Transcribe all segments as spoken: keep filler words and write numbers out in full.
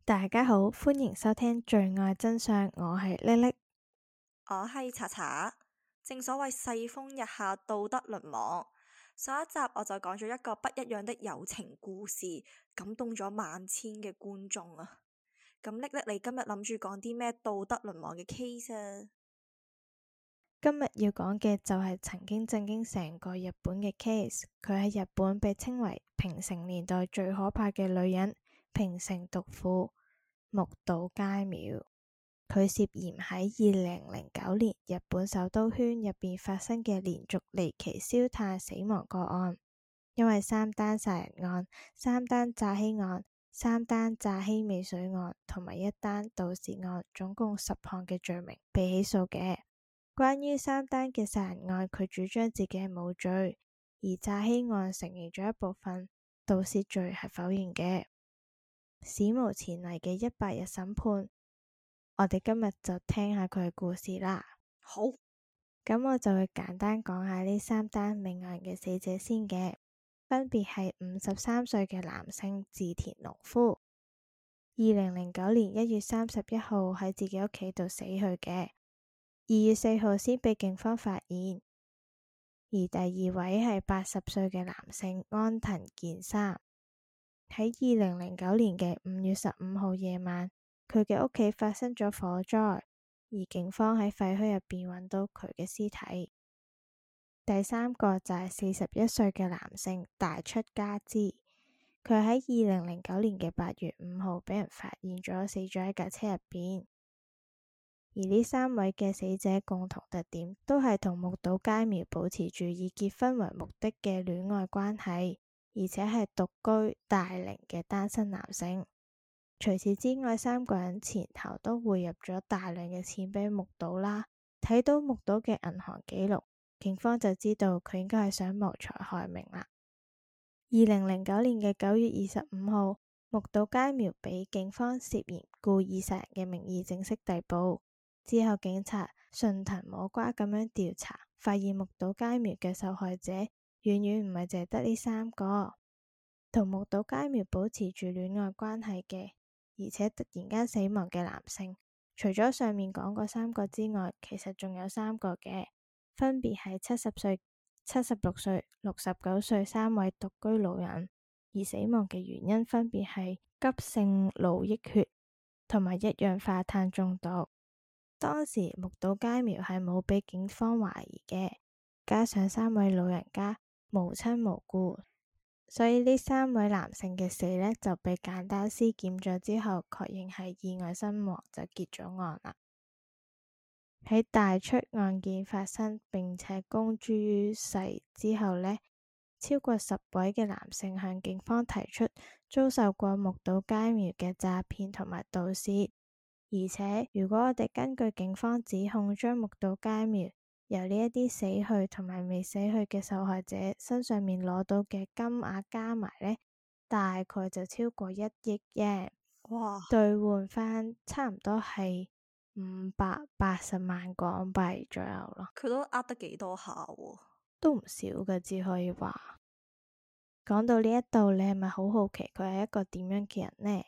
大家好，歡迎收聽罪愛真相，我係叻叻， 我係查查。正所謂世風日下，道德淪亡。上一集我就講咗一個不一樣的友情故事，感動咗萬千嘅觀眾啊。咁叻叻，你今日諗住講啲咩道德淪亡嘅 case 啊？ 今日要講嘅就係曾經震驚成個日本嘅 case，佢喺日本被稱為平成年代最可怕嘅女人，平成毒婦木島佳苗。佢涉嫌喺二零零九年日本首都圈入邊發生嘅連續離奇燒炭死亡個案，因為三單殺人案、三單詐欺案、三單詐欺未遂案同埋一單盜竊案，總共十項嘅罪名被起訴嘅。關於三單嘅殺人案，佢主張自己係冇罪，而詐欺案承認咗一部分，盜竊罪係否認嘅。史無前例嘅一百日審判，我哋今日就聽下佢嘅故事啦。 好， 咁我就會簡單講下呢三單命案嘅死者先嘅，分別係五十三歲嘅男性志田農夫，二零零九年一月三十一號喺自己屋企度死去嘅，二月四號先被警方發現。而第二位係八十歲嘅男性安藤健三，喺二零零九年嘅五月十五號夜晚，佢嘅屋企發生咗火災，而警方喺廢墟入邊揾到佢嘅屍體。第三個就係四十一歲嘅男性大出家之，佢喺二零零九年嘅八月五號俾人發現咗死咗喺架車入邊。而呢三位嘅死者共同特點都係同木島佳苗保持住以結婚為目的嘅戀愛關係，而且係獨居大齡嘅單身男性。除此之外，三個人前頭都匯入咗大量嘅錢俾木島啦。睇到木島嘅銀行記錄，警方就知道佢應該係想謀財害命啦。二零零九年嘅九月二十五號，木島佳苗俾警方涉嫌故意殺人嘅名義正式逮捕。之後警察順藤摸瓜咁樣調查，發現木島佳苗嘅受害者遠遠唔係淨係得呢三個，同木島佳苗保持住戀愛關係嘅，而且突然間死亡嘅男性，除咗上面講過三個之外，其實仲有三個嘅，分別係七十歲、七十六歲、六十九歲三位獨居老人，而死亡嘅原因分別係急性腦溢血同埋一氧化碳中毒。當時木島佳苗係冇俾警方懷疑嘅，加上三位老人家無親無故，所以呢三位男性嘅死呢就被簡單屍檢咗之後確認係意外身亡，就結咗案啦。喺大出案件發生並且公諸於世之後呢，超過十位嘅男性向警方提出遭受過木島佳苗嘅詐騙同埋盜竊。而且，如果我哋根據警方指控，將木島佳苗由呢一啲死去同埋未死去嘅受害者身上面攞到嘅金額加埋呢，大概就超過一億耶！哇！兌換翻差唔多係五百八十萬港幣左右咯。 佢都呃得幾多下喎？ 都唔少嘅，只可以話。講到呢一度，你係咪好好奇佢係一個點樣嘅人呢？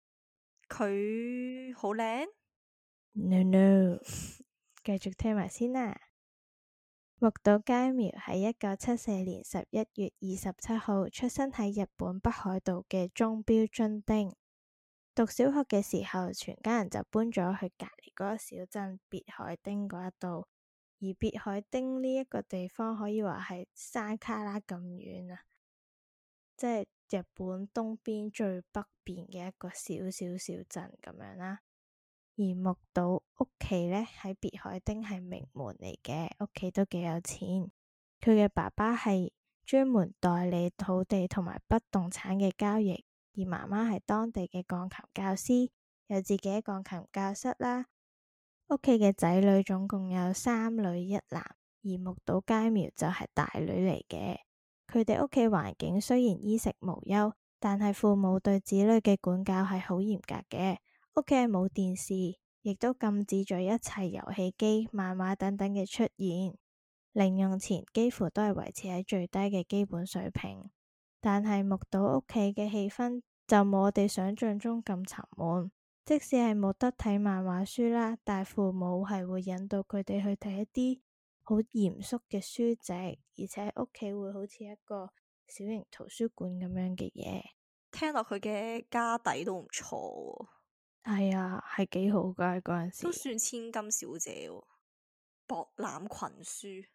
佢好靚 ？No no，繼續聽埋先啦。木島佳苗喺一九七四年十一月二十七號出生喺日本北海道嘅中標津町。讀小學嘅時候，全家人就搬咗去隔籬嗰個小鎮別海町嗰一度。而別海町呢一個地方可以話係山卡拉咁遠啊，即係日本東邊最北邊嘅一個小小小鎮咁樣啦。而木島屋企呢，喺別海町係名門嚟嘅，屋企都幾有錢。佢嘅爸爸係專門代理土地同埋不動產嘅交易，而媽媽係當地嘅鋼琴教師，有自己嘅鋼琴教室啦。屋企嘅仔女總共有三女一男，而木島佳苗就係大女嚟嘅。佢哋屋企環境雖然衣食無憂，但係父母對子女嘅管教係好嚴格嘅。屋企係冇電視，亦都禁止咗一切遊戲機、漫畫等等嘅出現。零用錢幾乎都係維持喺最低嘅基本水平。但係木島屋企嘅氣氛就冇我哋想象中咁沉悶。即使係冇得睇漫畫書啦，但父母係會引導佢哋去睇一啲好嚴肅嘅書籍，而且屋企會好似一個小型圖書館咁樣嘅嘢。 聽落佢嘅家底都唔錯喎。 係啊，係幾好噶嗰陣時， 都算千金小姐喎，博覽群書。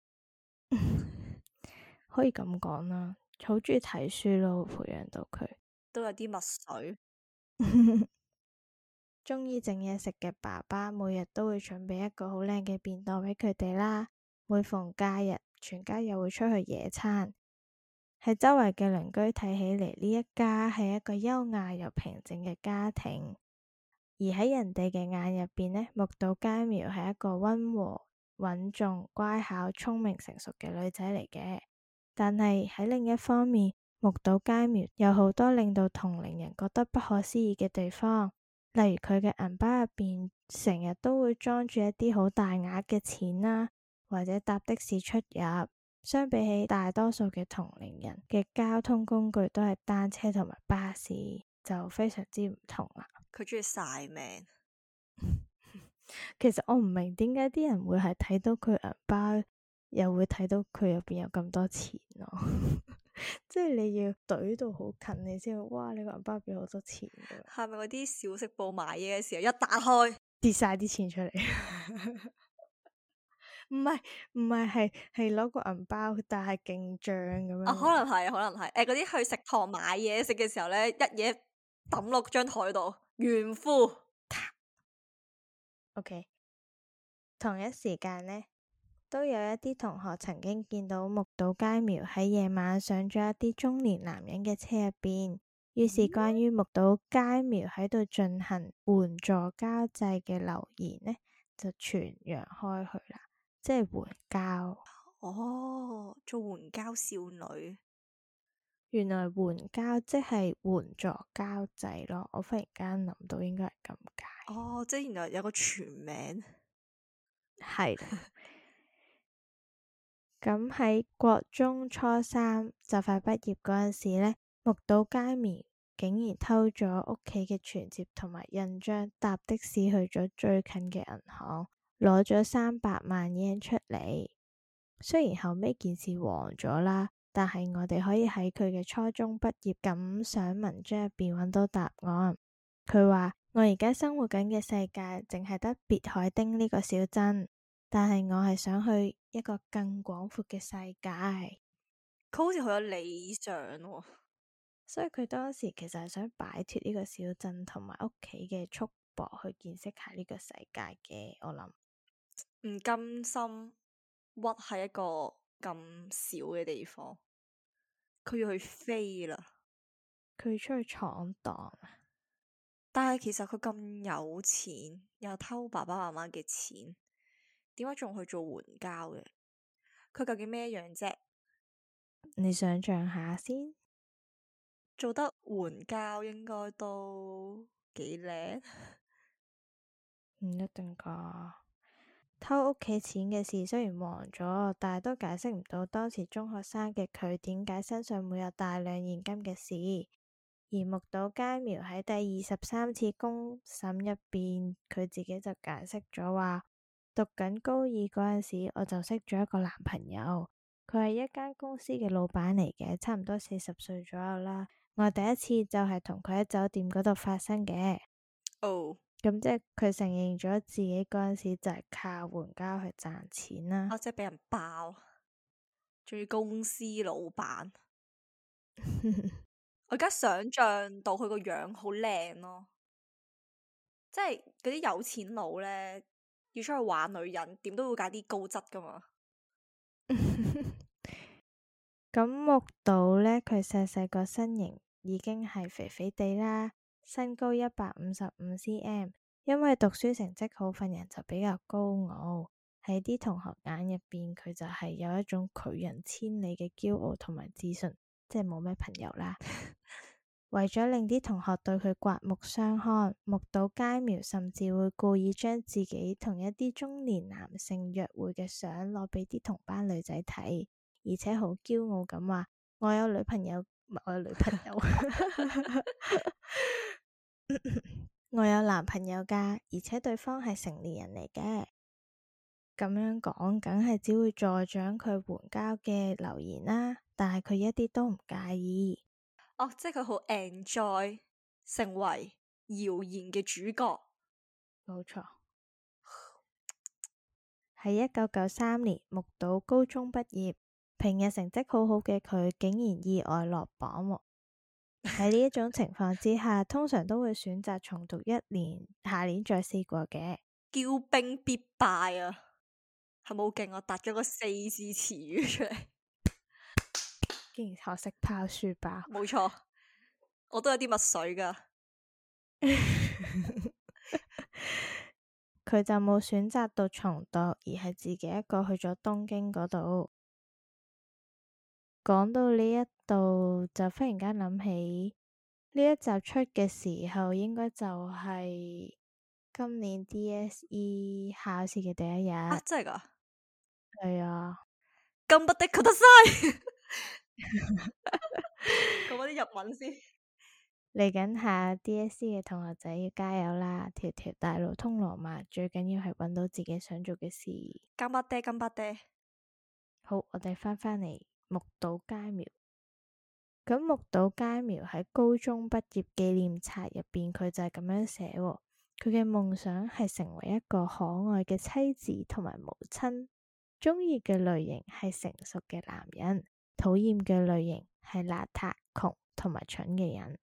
可以咁講啦，好中意睇書咯，培養到佢都有啲墨水。 中意整嘢食嘅爸爸，每日都會準備一個好靚嘅便當俾佢哋啦。每逢假日，全家又會出去野餐。喺周圍嘅鄰居睇起嚟，呢一家係一個優雅又平靜嘅家庭。而喺人哋嘅眼入邊呢，木島佳苗係一個溫和、穩重、乖巧、聰明、成熟嘅女仔嚟嘅。但係喺另一方面，木島佳苗有好多令到同齡人覺得不可思議嘅地方。例如佢嘅銀包入邊成日都會裝住一啲好大額嘅錢啦，或者搭的士出入。相比起大多數嘅同齡人嘅交通工具都係單車同埋巴士，就非常之唔同啦。 佢中意晒命。 其實我唔明點解啲人會係睇到佢銀包，又會睇到佢入邊有咁多錢咯。即係你要懟到好近，你先會哇！你個銀包入邊好多錢㗎。 係咪嗰啲小食部買嘢嘅時候一打開跌晒啲錢出嚟？唔係唔係，係係攞個銀包，但係勁脹咁樣。 啊，可能係，可能係。誒，嗰啲去食堂買嘢食嘅時候咧，一嘢抌落張台度，炫富。 OK，同一時間呢，都有一啲同學曾經見到木島佳苗喺夜晚上咗一啲中年男人嘅車入邊，於是關於木島佳苗喺度進行援助交際嘅流言呢，就傳揚開去啦，即係援交。 哦，做援交少女， 原來援交即係援助交際咯，我忽然間諗到應該係咁解。 哦，即係原來有個全名。 係啦。咁喺國中初三就快畢業嗰陣時呢，木島佳苗竟然偷咗屋企嘅存摺同埋印章，搭的士去咗最近嘅銀行，攞咗三百萬日圓出嚟。雖然後尾件事黃咗啦，但係我哋可以喺佢嘅初中畢業感想文章入邊揾到答案。佢話：我而家生活緊嘅世界淨係得別海町呢個小鎮。但係我係想去一個更廣闊嘅世界。 佢好似好有理想喎， 所以佢當時其實係想擺脫呢個小鎮同埋屋企嘅束縛，去見識下呢個世界嘅。我諗唔甘心屈喺一個咁小嘅地方，佢要去飛啦。 佢出去闖蕩， 但係其實佢咁有錢，又偷爸爸媽媽嘅錢，點解仲去做援交嘅？佢究竟咩樣啫？ 你想象下先， 做得援交應該都幾靚。 唔一定噶。偷屋企錢嘅事雖然黃咗，但係都解釋唔到當時中學生嘅佢點解身上會有大量現金嘅事。而木島佳苗喺第二十三次公審入邊，佢自己就解釋咗話：讀緊高二嗰陣時，我就識咗一個男朋友，佢係一間公司嘅老闆嚟嘅，差唔多四十歲左右啦。我第一次就係同佢喺酒店嗰度發生嘅。 哦， 咁即係佢承認咗自己嗰陣時就係靠援交去賺錢啦。 啊，即係俾人爆，仲要公司老闆。我而家想象到佢個樣好靚咯，即係嗰啲有錢佬呢，要出去玩女人，點都會揀啲高質噶嘛。 咁木島呢，佢細細個身形已經係肥肥地啦，身高一百五十五 cm，因為讀書成績好，份人就比較高傲，喺啲同學眼入邊，佢就係有一種拒人千里嘅驕傲同埋自信，即係冇咩朋友啦。為咗令啲同學對佢刮目相看，木島佳苗甚至會故意將自己同一啲中年男性約會嘅相攞俾啲同班女仔睇，而且好驕傲咁話：我有女朋友我有女朋友。我有男朋友㗎，而且對方係成年人嚟嘅。咁樣講，梗係只會助長佢援交嘅留言啦。但係佢一啲都唔介意。 哦，即係佢好 enjoy 成為謠言嘅主角。 冇錯。喺一九九三年，木島高中畢業，平日成績好好嘅佢，竟然意外落榜喎。喺呢一種情況之下，通常都會選擇重讀一年，下年再試過嘅。 驕兵必敗啊！係咪好勁？我答咗個四字詞語出嚟， 竟然學識拋書包。 冇錯，我都有啲墨水噶。 佢就冇選擇到重讀，而係自己一個去咗東京嗰度。講到呢一度，就忽然間諗起呢一集出嘅時候，應該就係今年 D S E 考試嘅第一日。 啊，真係噶？ 係啊。 咁不的確得晒。講翻啲日文先。 嚟緊下 D S E 嘅同學仔要加油啦！條條大路通羅馬，最緊要係揾到自己想做嘅事。 干巴爹，干巴爹。 好，我哋翻返嚟木島佳苗。咁木島佳苗喺高中畢業紀念冊入邊，佢就係咁樣寫喎。佢嘅夢想係成為一個可愛嘅妻子同埋母親，中意嘅類型係成熟嘅男人，討厭嘅類型係邋遢、窮同埋蠢嘅人。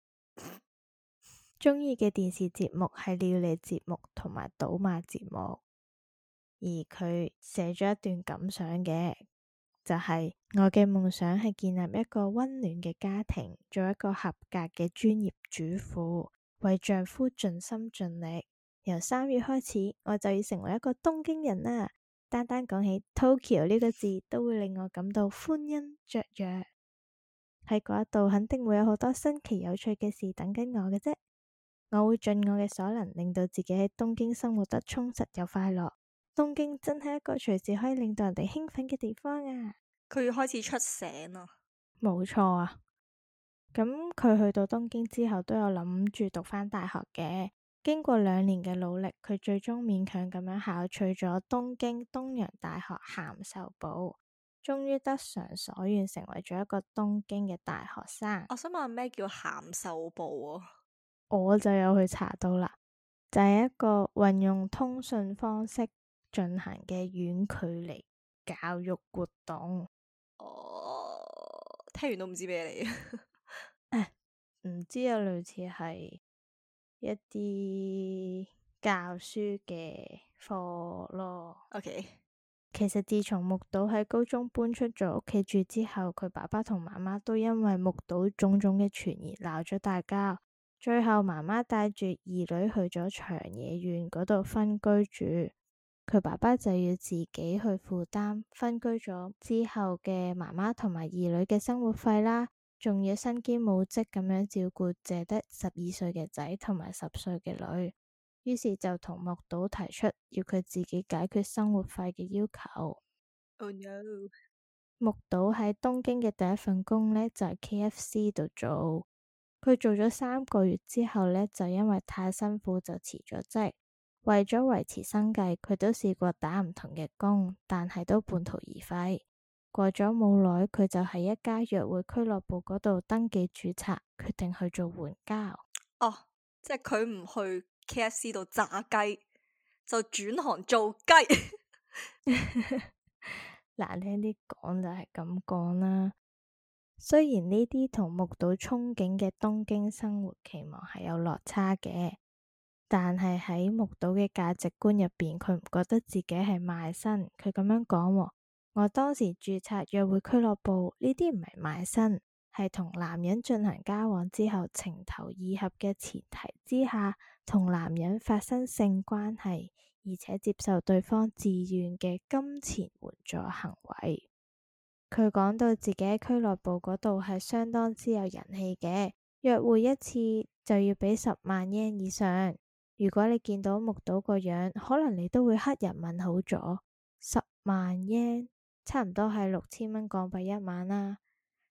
中意嘅電視節目係料理節目同埋賭馬節目。而佢寫咗一段感想嘅，就係我嘅夢想係建立一個溫暖嘅家庭，做一個合格嘅專業主婦，為丈夫盡心盡力。由三月開始，我就要成為一個東京人啦。單單講起 Tokyo 呢個字，都會令我感到歡欣雀躍。喺嗰一度，肯定會有好多新奇有趣嘅事等緊我嘅啫。我會盡我嘅所能，令到自己喺東京生活得充實又快樂。東京真係一個隨時可以令到人哋興奮嘅地方啊！ 佢要開始出醒啦。 冇錯啊！咁佢去到東京之後，都有諗住讀返大學嘅。經過兩年嘅努力，佢最終勉強咁樣考取咗東京東洋大學函授部，終於得償所願，成為咗一個東京嘅大學生。 我想問咩叫函授部啊？ 我就有去查到啦，就係一個運用通訊方式進行嘅遠距離教育活動。 哦，聽完都唔知咩嚟。 唔知啊，類似係一啲教書嘅課咯。 OK， 其實自從木島喺高中搬出咗屋企住之後，佢爸爸同媽媽都因為木島種種嘅傳言鬧咗大交。最後媽媽帶住二女去咗長野縣嗰度分居住，佢爸爸就要自己去負擔分居咗之後嘅媽媽同埋二女嘅生活費啦，仲要身兼母職咁樣照顧淨得十二歲嘅仔同埋十歲嘅女，於是就同木島提出要佢自己解決生活費嘅要求。 Oh no！ 木島喺東京嘅第一份工呢，就係 K F C 度做。佢做咗三個月之後呢，就因為太辛苦就辭咗職。為咗維持生計，佢都試過打唔同嘅工，但係都半途而廢。過咗冇耐，佢就喺一家約會俱樂部嗰度登記註冊，決定去做援交。 哦，即係佢唔去 K F C 度炸雞，就轉行做雞。 難聽啲講就係咁講啦。雖然呢啲同木島憧憬嘅東京生活期望係有落差嘅，但係喺木島嘅價值觀入邊，佢唔覺得自己係賣身。佢咁樣講，我當時註冊約會俱樂部，呢啲唔係賣身，係同男人進行交往之後情投意合嘅前提之下，同男人發生性關係，而且接受對方自願嘅金錢援助行為。佢講到自己喺俱樂部嗰度係相當之有人氣嘅，約會一次就要畀十萬日圓以上。如果你見到木島個樣，可能你都會黑人問號咗。十萬日圓差唔多係六千蚊港幣一晚啦。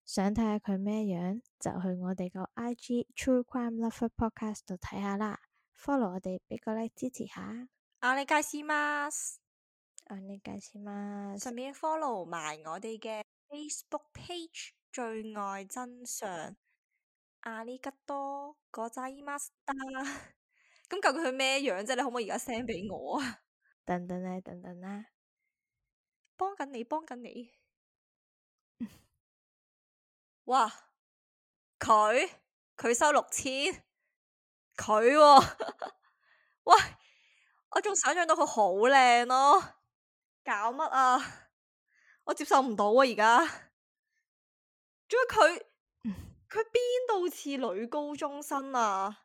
想睇下佢咩樣，就去我哋個 I G True Crime Lover Podcast 度睇下啦。follow 我哋，俾個 like 支持下。 お願いします。 お願いします。 順便 follow 埋我哋嘅 Facebook page 罪愛真相。阿里吉多ございました。咁究竟佢咩樣啫？你可唔可以而家 send 俾我啊？ 等等啦，等等啦， 幫緊你，幫緊你。哇！佢佢收六千，佢喂，我仲想象到佢好靚咯，搞乜啊？我接受唔到啊！而家仲有佢，佢邊度似女高中生啊？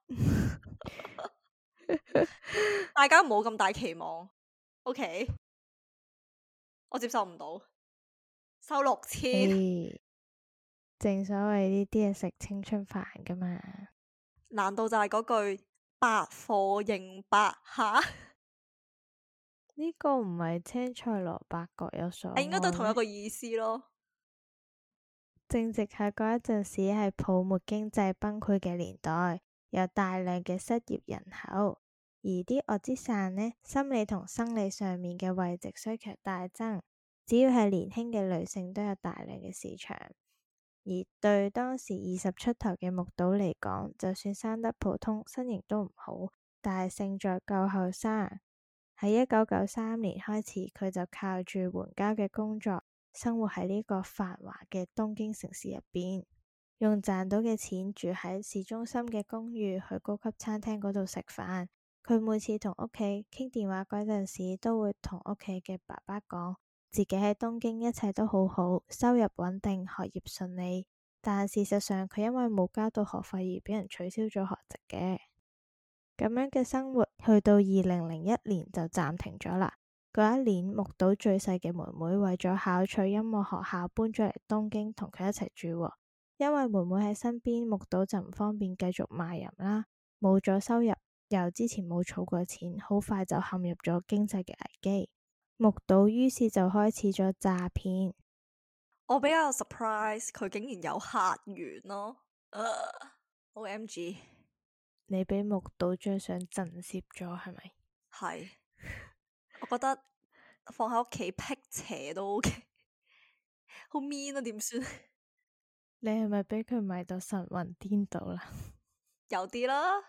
大家唔好咁大期望 ，OK？我接受唔到，收六千。 欸，正所謂呢啲係食青春飯噶嘛？ 難道就係嗰句百貨應百吓？ 呢個唔係青菜蘿蔔各有所愛， 應該都同一個意思咯。 正值喺嗰一陣時係泡沫經濟崩潰嘅年代，有大量嘅失業人口，而啲惡之散呢，心理同生理上面嘅慰藉需求大增，只要係年輕嘅女性都有大量嘅市場。而對當時二十出頭嘅木島嚟講，就算生得普通，身形都唔好，但係勝在夠後生。喺一九九三年開始，佢就靠住援交嘅工作，生活喺呢個繁華嘅東京城市入邊，用賺到嘅錢住喺市中心嘅公寓，去高級餐廳嗰度食飯。佢每次同屋企傾電話嗰陣時，都會同屋企嘅爸爸講，自己喺東京一切都好好，收入穩定，學業順利。但事實上，佢因為冇交到學費而俾人取消咗學籍嘅。咁樣嘅生活去到二零零一年就暫停咗啦。嗰一年，木島最細嘅妹妹為咗考取音樂學校，搬咗嚟東京同佢一齊住。因為妹妹喺身邊，木島就唔方便繼續賣淫啦，冇咗收入，又之前冇儲過錢，好快就陷入咗經濟嘅危機。木島於是就開始咗詐騙。 我比較 surprise，佢竟然有客源咯。呃、O M G， 你俾木島張相震懾咗係咪？ 係，我覺得放喺屋企辟邪都 OK，好 mean 啊，點算？ 你係咪俾佢迷到神魂顛倒啦？ 有啲啦，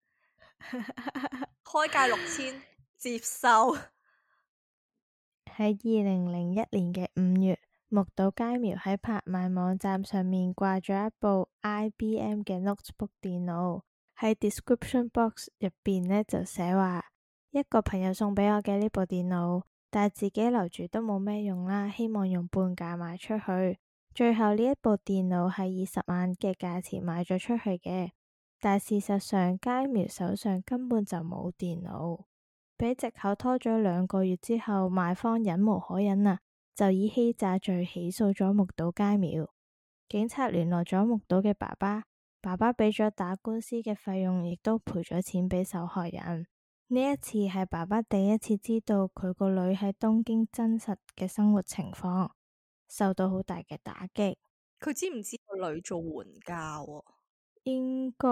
開價六千接受。 喺二零零一年嘅五月，木島佳苗喺拍賣網站上面掛咗一部 I B M 嘅 notebook 電腦，喺 description box 入邊呢就寫話，一個朋友送俾我嘅呢部電腦，但係自己留住都冇咩用啦，希望用半價賣出去。最後呢一部電腦係以十萬嘅價錢賣咗出去嘅，但事實上佳苗手上根本就冇電腦。俾藉口拖咗兩個月之後，賣方忍無可忍啦，就以欺詐罪起訴咗木島佳苗。警察聯絡咗木島嘅爸爸，爸爸俾咗打官司嘅費用，亦都賠咗錢俾受害人。呢一次係爸爸第一次知道佢個女喺東京真實嘅生活情況，受到好大嘅打擊。 佢知唔知個女做援交啊？ 應該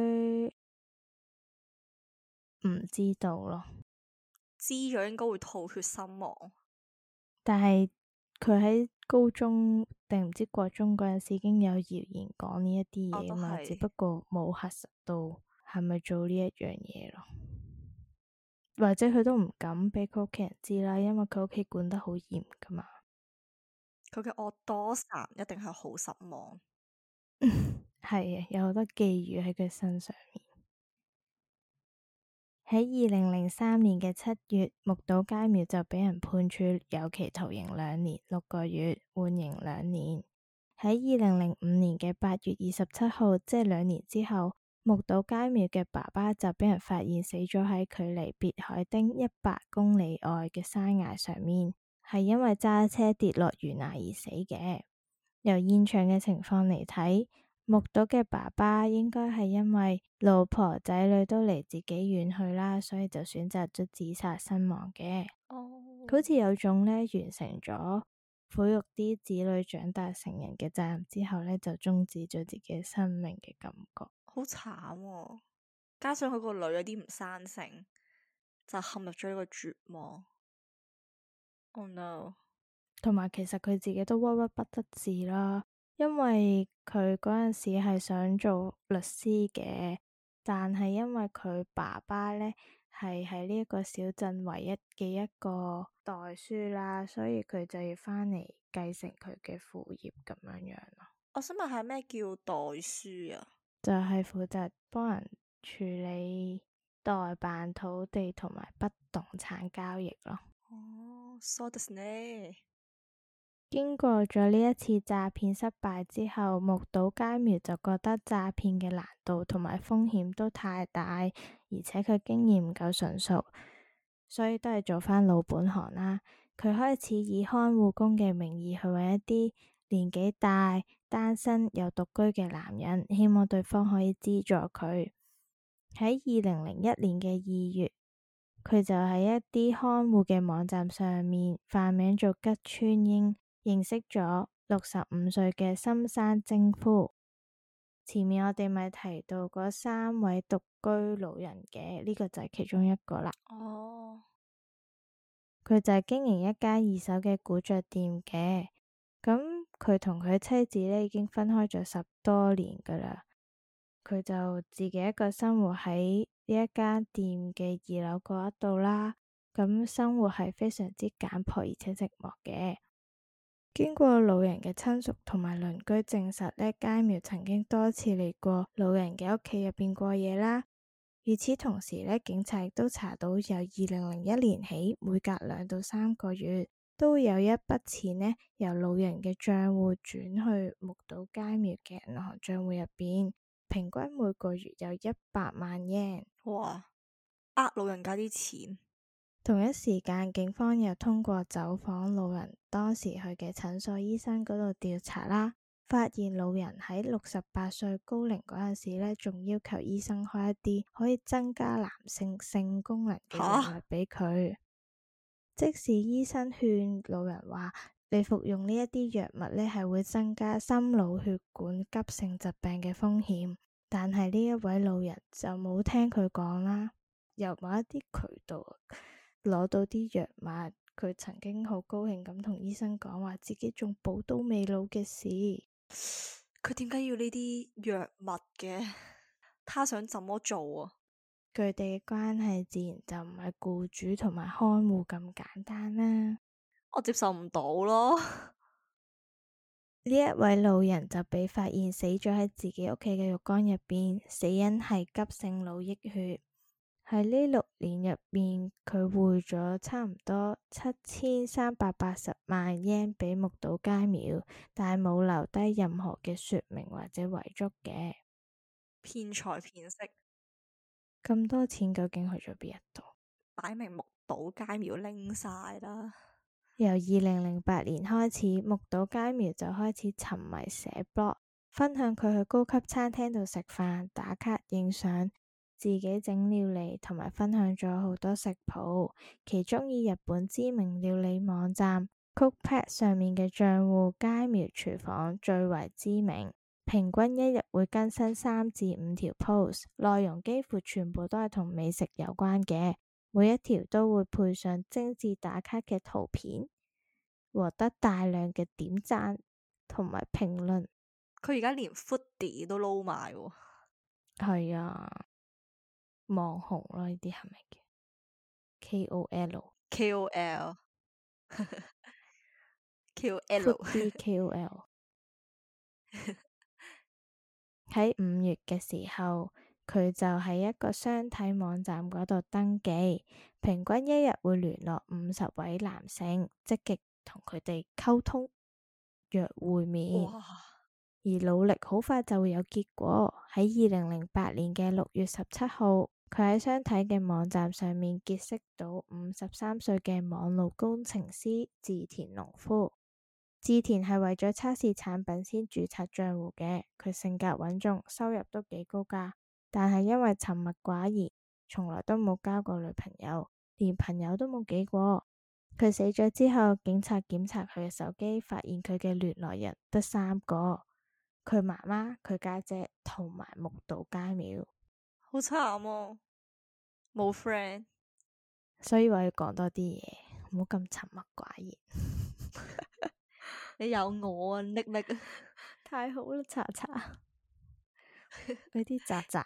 唔知道咯。 知咗應該會吐血身亡。 但係佢喺高中定唔知國中嗰陣時已經有謠言講呢一啲嘢嘛，只不過冇核實到係咪做呢一樣嘢咯，或者佢都唔敢俾佢屋企人知啦，因為佢屋企管得好嚴噶嘛。 佢嘅惡多神一定係好失望。 係啊，有好多寄語喺佢身上面。喺二零零三年嘅七月，木島佳苗就俾人判處有期徒刑兩年六個月，緩刑兩年。喺二零零五年嘅八月二十七號，即係兩年之後，木島佳苗嘅爸爸就俾人發現死咗喺距離別海町一百公里外嘅山崖上面，係因為揸車跌落懸崖而死嘅。由現場嘅情況嚟睇，木島嘅爸爸應該係因為老婆仔女都離自己遠去啦，所以就選擇咗自殺身亡嘅。 哦， 好似有種呢，完成咗撫育啲子女長大成人嘅責任之後呢，就終止咗自己嘅生命嘅感覺。 好慘喎！加上佢個女有啲唔生性，就陷入咗呢個絕望。Oh no！ 同埋其實佢自己都鬱鬱不得志啦，因為佢嗰陣時係想做律師嘅，但係因為佢爸爸呢係喺呢一個小鎮唯一嘅一個代書啦，所以佢就要返嚟繼承佢嘅父業咁樣樣咯。 我想問下咩叫代書啊？ 就係負責幫人處理代辦土地同埋不動產交易咯。 哦，そうですね。 經過咗呢一次詐騙失敗之後，木島佳苗就覺得詐騙嘅難度同埋風險都太大，而且佢經驗唔夠純熟，所以都係做返老本行啦。佢開始以看護工嘅名義去搵一啲年紀大、單身又獨居嘅男人，希望對方可以資助佢。喺二零零一年嘅二月，佢就喺一啲看護嘅網站上面化名做吉川英，認識咗六十五歲嘅深山征夫。前面我哋咪提到嗰三位獨居老人嘅，呢個就係其中一個啦。 哦， 佢就係經營一間二手嘅古着店嘅。咁佢同佢妻子呢已經分開咗十多年噶啦。佢就自己一個生活喺呢一間店嘅二樓嗰一度啦。咁生活係非常之簡樸而且寂寞嘅。經過老人嘅親屬同埋鄰居證實呢，佳苗曾經多次嚟過老人嘅屋企入邊過夜啦。與此同時呢，警察亦都查到由二零零一年起，每隔兩到三個月都會有一筆錢呢由老人嘅賬戶轉去木島佳苗嘅銀行賬戶入邊，平均每個月有一百萬日圓。 哇！呃老人家啲錢。 同一時間，警方又通過走訪老人當時去嘅診所醫生嗰度調查啦，發現老人喺六十八歲高齡嗰陣時呢，仲要求醫生開一啲可以增加男性性功能嘅藥物俾佢。即使醫生勸老人話，你服用呢一啲藥物呢係會增加心腦血管急性疾病嘅風險，但係呢一位老人就冇聽佢講啦。由某一啲渠道攞到啲藥物，佢曾經好高興咁同醫生講話，自己仲寶刀未老嘅事。 佢點解要呢啲藥物嘅？他想怎麼做啊？ 佢哋嘅關係自然就唔係僱主同埋看護咁簡單啦。 我接受唔到咯。 呢一位老人就被發現死咗喺自己屋企嘅浴缸入邊，死因係急性腦溢血。喺呢六年入面，佢匯咗差唔多七千三百八十萬日圓俾木島佳苗，但係冇留低任何嘅說明或者遺囑嘅。 騙財騙色， 咁多錢究竟去咗邊一度？ 擺明木島佳苗拎晒啦。 由二零零八年開始，木島佳苗就開始沉迷寫 blog，分享佢去高級餐廳度食飯、打卡、影相。自己整料理同埋分享咗好多食譜，其中以日本知名料理網站 Cookpad 上面嘅賬戶佳苗廚房最為知名，平均一日會更新三至五條 post， 內容幾乎全部都係同美食有關嘅，每一條都會配上精緻打卡嘅圖片，獲得大量嘅點讚同埋評論。 佢而家連 foodie 都撈埋喎。 係啊。網紅咯，呢啲係咪嘅 K O L？K O L，K O L，K O L。喺五月嘅時候，佢就喺一個相睇網站嗰度登記，平均一日會聯絡五十位男性，積極同佢哋溝通、約會面， 哇而努力好快就會有結果。喺二零零八年嘅六月十七號。佢喺相睇嘅網站上面結識到五十三歲嘅網絡工程師志田農夫。志田係為咗測試產品先註冊賬戶嘅，佢性格穩重，收入都幾高㗎，但係因為沉默寡言，從來都冇交過女朋友，連朋友都冇幾個。 佢死咗之後，警察檢查佢嘅手機，發現佢嘅聯絡人得三個，佢媽媽、佢家姐同埋木島佳苗。 好慘啊，冇 friend。 所以話要講多啲嘢，唔好咁沉默寡言。 你有我啊，匿匿。 太好啦，查查。嗰啲渣渣。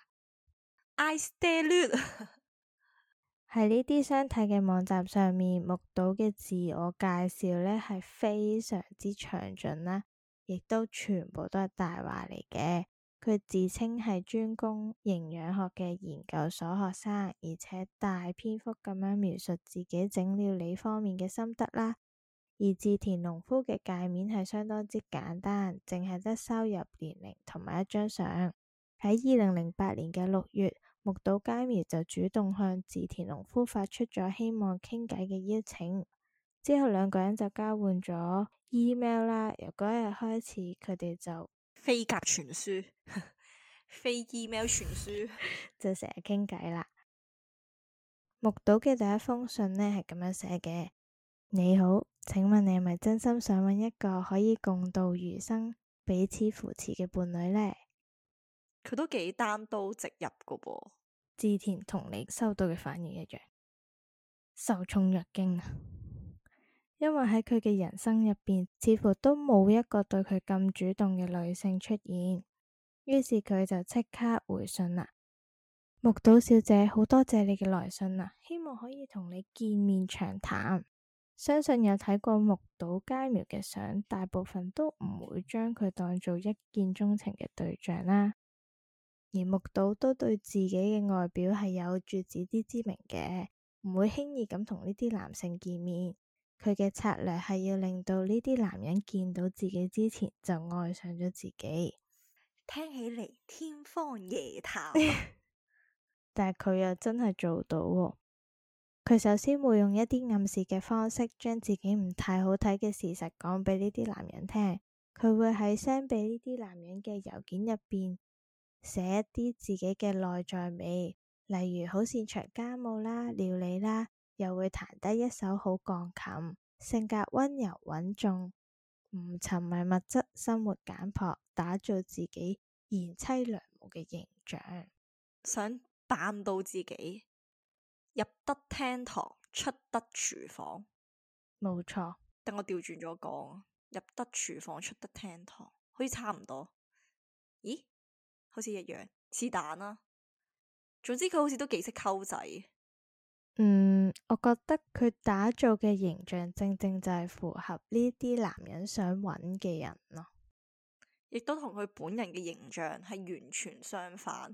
I stay nude。 喺呢啲相睇嘅網站上面，木島嘅自我介紹呢係非常之詳盡啦，亦都全部都係大話嚟嘅。佢自稱係專攻營養學嘅研究所學生，而且大篇幅咁樣描述自己整料理方面嘅心得啦。而志田農夫嘅界面係相當之簡單，淨係得收入、年齡同埋一張相。喺二零零八年嘅六月，木島佳苗就主動向志田農夫發出咗希望傾偈嘅邀請，之後兩個人就交換咗 email 啦。由嗰日開始，佢哋就飛鴿傳書，飛 email 傳書， 就成日傾偈啦。木島嘅第一封信呢係咁樣寫嘅：你好，請問你係咪真心想揾一個可以共度餘生、彼此扶持嘅伴侶呢？ 佢都幾單刀直入噶噃。 志田同你收到嘅反應一樣，受寵若驚啊！因為喺佢嘅人生入邊，似乎都冇一個對佢咁主動嘅女性出現。於是佢就即刻回信啦：木島小姐，好多謝你嘅來信啊，希望可以同你見面長談。相信有睇過木島佳苗嘅相，大部分都唔會將佢當做一見鍾情嘅對象啦。而木島都對自己嘅外表係有住自知之明嘅，唔會輕易咁同呢啲男性見面。佢嘅策略係要令到呢啲男人見到自己之前就愛上咗自己。 聽起嚟天方夜譚， 但係佢又真係做到喎。佢首先會用一啲暗示嘅方式，將自己唔太好睇嘅事實講俾呢啲男人聽。佢會喺 send 俾呢啲男人嘅郵件入邊寫一啲自己嘅內在美，例如好擅長家務啦、料理啦，又會彈得一手好鋼琴，性格溫柔穩重，唔沉迷物質，生活簡樸，打造自己賢妻良母嘅形象， 想扮到自己入得廳堂，出得廚房。 冇錯。 等我調轉咗講，入得廚房，出得廳堂，好似差唔多。咦？好似一樣，是但啦。總之佢好似都幾識溝仔。 嗯，我覺得佢打造嘅形象正正就係符合呢啲男人想揾嘅人咯， 亦都同佢本人嘅形象係完全相反。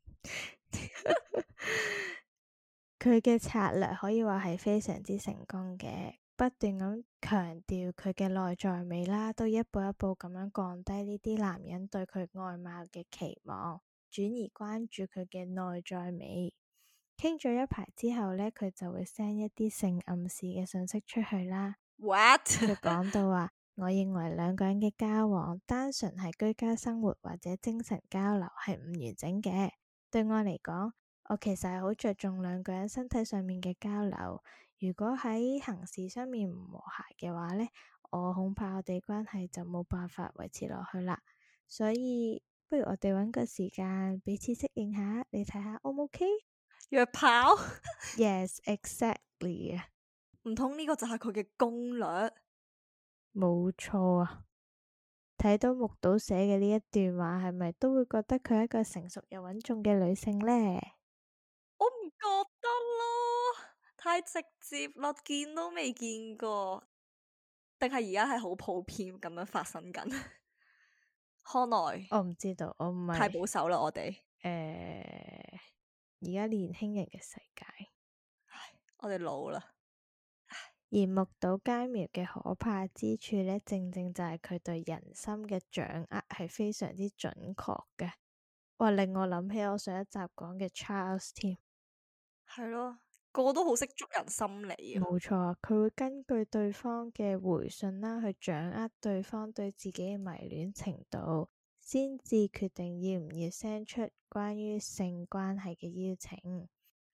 佢嘅策略可以話係非常之成功嘅，不斷咁強調佢嘅內在美啦，都一步一步咁樣降低呢啲男人對佢外貌嘅期望，轉而關注佢嘅內在美。傾咗一排之後呢，佢就會 send 一啲性暗示嘅信息出去啦。 What？ 佢講到話，我認為兩個人嘅交往單純係居家生活或者精神交流係唔完整嘅。對我嚟講，我其實係好着重兩個人身體上面嘅交流。如果喺行事上面唔和諧嘅話呢，我恐怕我哋關係就冇辦法維持落去啦。所以不如我哋揾個時間彼此適應下，你睇下 O 唔 OK？ 約炮 ？Yes, exactly。 唔通呢個就係佢嘅攻略？ 冇錯啊！睇到木島寫嘅呢一段話，係咪都會覺得佢係一個成熟又穩重嘅女性呢？ 我唔覺得咯，太直接啦，見都未見過，定係而家係好普遍咁樣發生緊？看來我唔知道，我唔係太保守啦，我哋誒，而家年輕人嘅世界， 唉，我哋老啦。 而木島佳苗嘅可怕之處呢，正正就係佢對人心嘅掌握係非常之準確嘅。哇，令我諗起我上一集講嘅 Charles 添。 係咯，個個都好識捉人心理啊。 冇錯，佢會根據對方嘅回信啦，去掌握對方對自己嘅迷戀程度，先至決定要唔要 send 出關於性關係嘅邀請。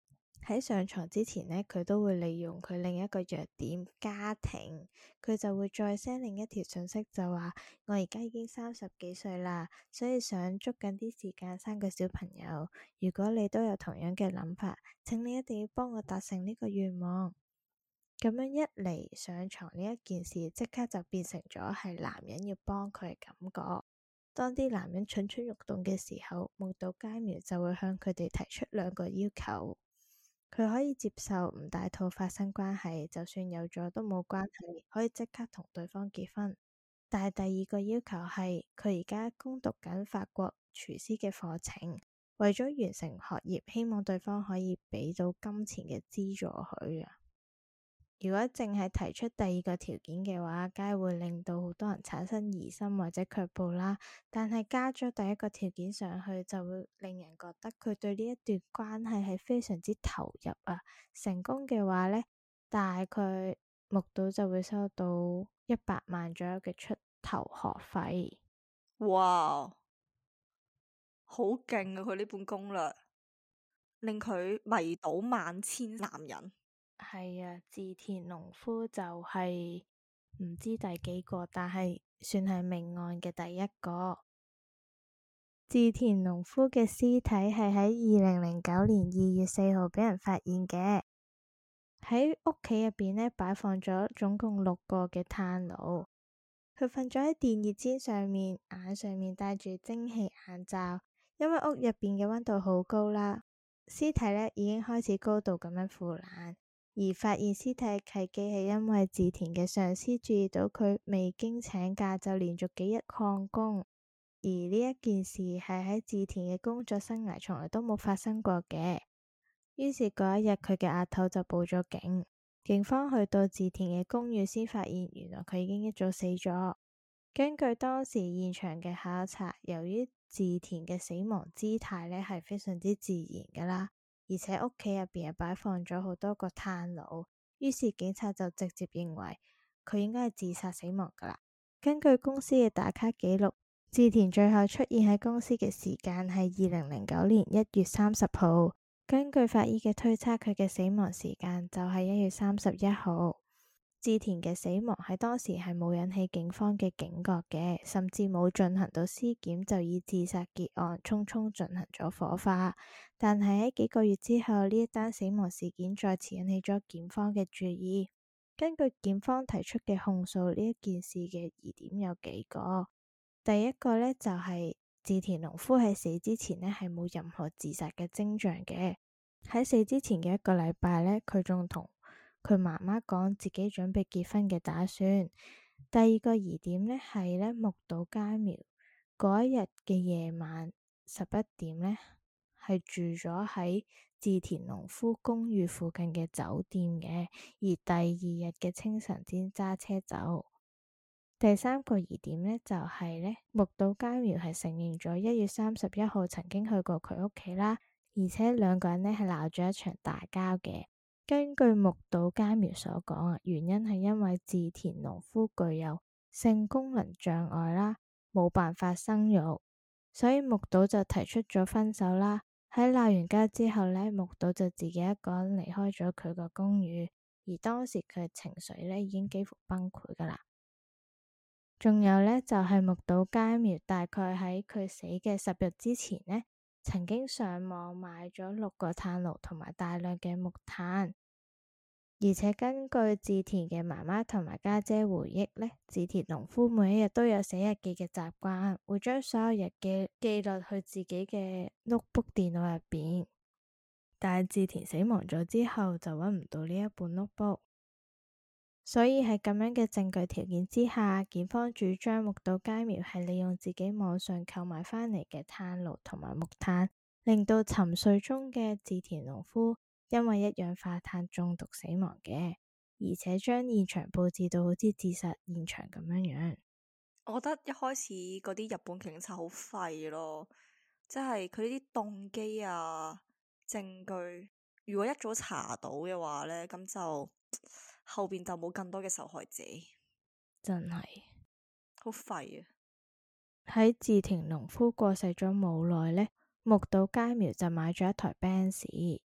喺上床之前呢，佢都會利用佢另一個弱點家庭，佢就會再 send 另一條信息，就話我而家已經三十幾歲啦，所以想捉緊啲時間生個小朋友。如果你都有同樣嘅諗法，請你一定要幫我達成呢個願望。咁樣一嚟，上床呢一件事，即刻就變成咗係男人要幫佢嘅感覺。當啲男人蠢蠢欲動嘅時候，木島佳苗就會向佢哋提出兩個要求。佢可以接受唔戴套發生關係，就算有咗都冇關係，可以即刻同對方結婚。但係第二個要求係，佢而家攻讀緊法國廚師嘅課程，為咗完成學業，希望對方可以俾到金錢嘅資助佢啊。如果淨係提出第二個條件嘅話，梗係會令到好多人產生疑心或者卻步啦。但係加咗第一個條件上去，就會令人覺得佢對呢一段關係係非常之投入啊。成功嘅話呢，大概木島就會收到一百萬左右嘅出頭學費。 哇，好勁啊！佢呢本攻略令佢迷倒萬千男人。 係啊，志田農夫就係唔知第幾個，但係算係命案嘅第一個。志田農夫嘅屍體係喺二零零九年二月四號俾人發現嘅。喺屋企入邊呢，擺放咗總共六個嘅炭爐。佢瞓咗喺電熱氈上面，眼上面戴住蒸汽眼罩，因為屋入邊嘅溫度好高啦。屍體呢已經開始高度咁樣腐爛。而發現屍體契機係因為志田嘅上司注意到佢未經請假就連續幾日曠工，而呢一件事係喺志田嘅工作生涯從來都冇發生過嘅。於是嗰一日佢嘅阿頭就報咗警，警方去到志田嘅公寓先發現原來佢已經一早死咗。根據當時現場嘅考察，由於志田嘅死亡姿態呢係非常之自然噶啦。而且屋企入邊又擺放咗好多個炭爐，於是警察就直接認為佢應該係自殺死亡噶啦。根據公司嘅打卡記錄，志田最後出現喺公司嘅時間係二零零九年一月三十號。根據法醫嘅推測，佢嘅死亡時間就係一月三十一號。志田嘅死亡喺當時係冇引起警方嘅警覺嘅，甚至冇進行到屍檢，就以自殺結案，匆匆進行咗火化。但係喺幾個月之後，呢一單死亡事件再次引起咗檢方嘅注意。根據檢方提出嘅控訴，呢一件事嘅疑點有幾個。第一個呢，就係志田農夫喺死之前呢係冇任何自殺嘅徵象嘅。喺死之前嘅一個禮拜呢，佢仲同佢媽媽講自己準備結婚嘅打算。第二個疑點呢係呢木島佳苗嗰一日嘅夜晚十一點呢係住咗喺志田農夫公寓附近嘅酒店嘅，而第二日嘅清晨先揸車走。第三個疑點呢就係呢木島佳苗係承認咗一月三十一號曾經去過佢屋企啦，而且兩個人呢係鬧咗一場大交嘅。根據木島佳苗所講啊，原因係因為志田農夫具有性功能障礙啦，冇辦法生育，所以木島就提出咗分手啦。喺鬧完交之後呢，木島就自己一個人離開咗佢個公寓，而當時佢嘅情緒呢已經幾乎崩潰噶啦。仲有呢，就係木島佳苗大概喺佢死嘅十日之前呢，曾經上網買咗六個炭爐同埋大量嘅木炭，而且根據志田嘅媽媽同埋家姐回憶呢，志田農夫每一日都有寫日記嘅習慣，會將所有日記記錄去自己嘅 notebook 電腦入邊。但係志田死亡咗之後，就揾唔到呢一本 notebook，所以喺咁樣嘅證據條件之下，檢方主張木島佳苗係利用自己網上購買返嚟嘅炭爐同埋木炭，令到沉睡中嘅志田農夫因為一氧化碳中毒死亡嘅，而且將現場佈置到好似自殺現場咁樣樣。 我覺得一開始嗰啲日本警察好廢咯，即係佢呢啲動機啊、證據，如果一早查到嘅話呢，咁就後邊就冇更多嘅受害者。 真係好廢啊！ 喺志田農夫過世咗冇耐呢，木島佳苗就買咗一台 Benz，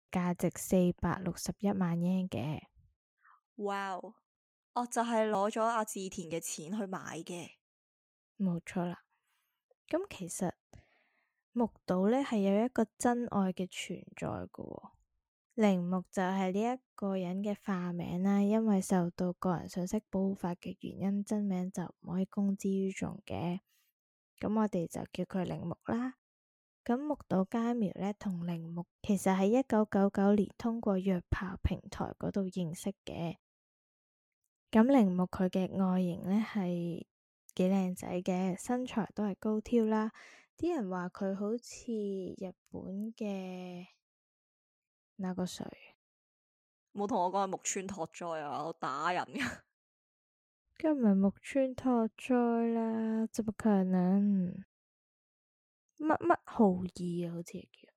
價值四百六十一萬日圓嘅。 哇！我就係攞咗阿志田嘅錢去買嘅。 冇錯啦。咁其實木島呢係有一個真愛嘅存在嘅喎。鈴木就係呢一個人嘅化名啦，因為受到個人信息保護法嘅原因，真名就唔可以公之於眾嘅。咁我哋就叫佢鈴木啦。咁木島佳苗呢，同鈴木其實喺一九九九年通過約炮平台嗰度認識嘅。咁鈴木佢嘅外形呢係幾靚仔嘅，身材都係高挑啦。啲人話佢好似日本嘅那個誰， 冇同我講係木村拓哉啊，我打人噶。 梗唔係木村拓哉啦，怎麼可能？乜乜浩二啊，好似叫，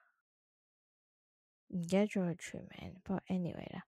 唔記得咗佢全名。不過 anyway 啦，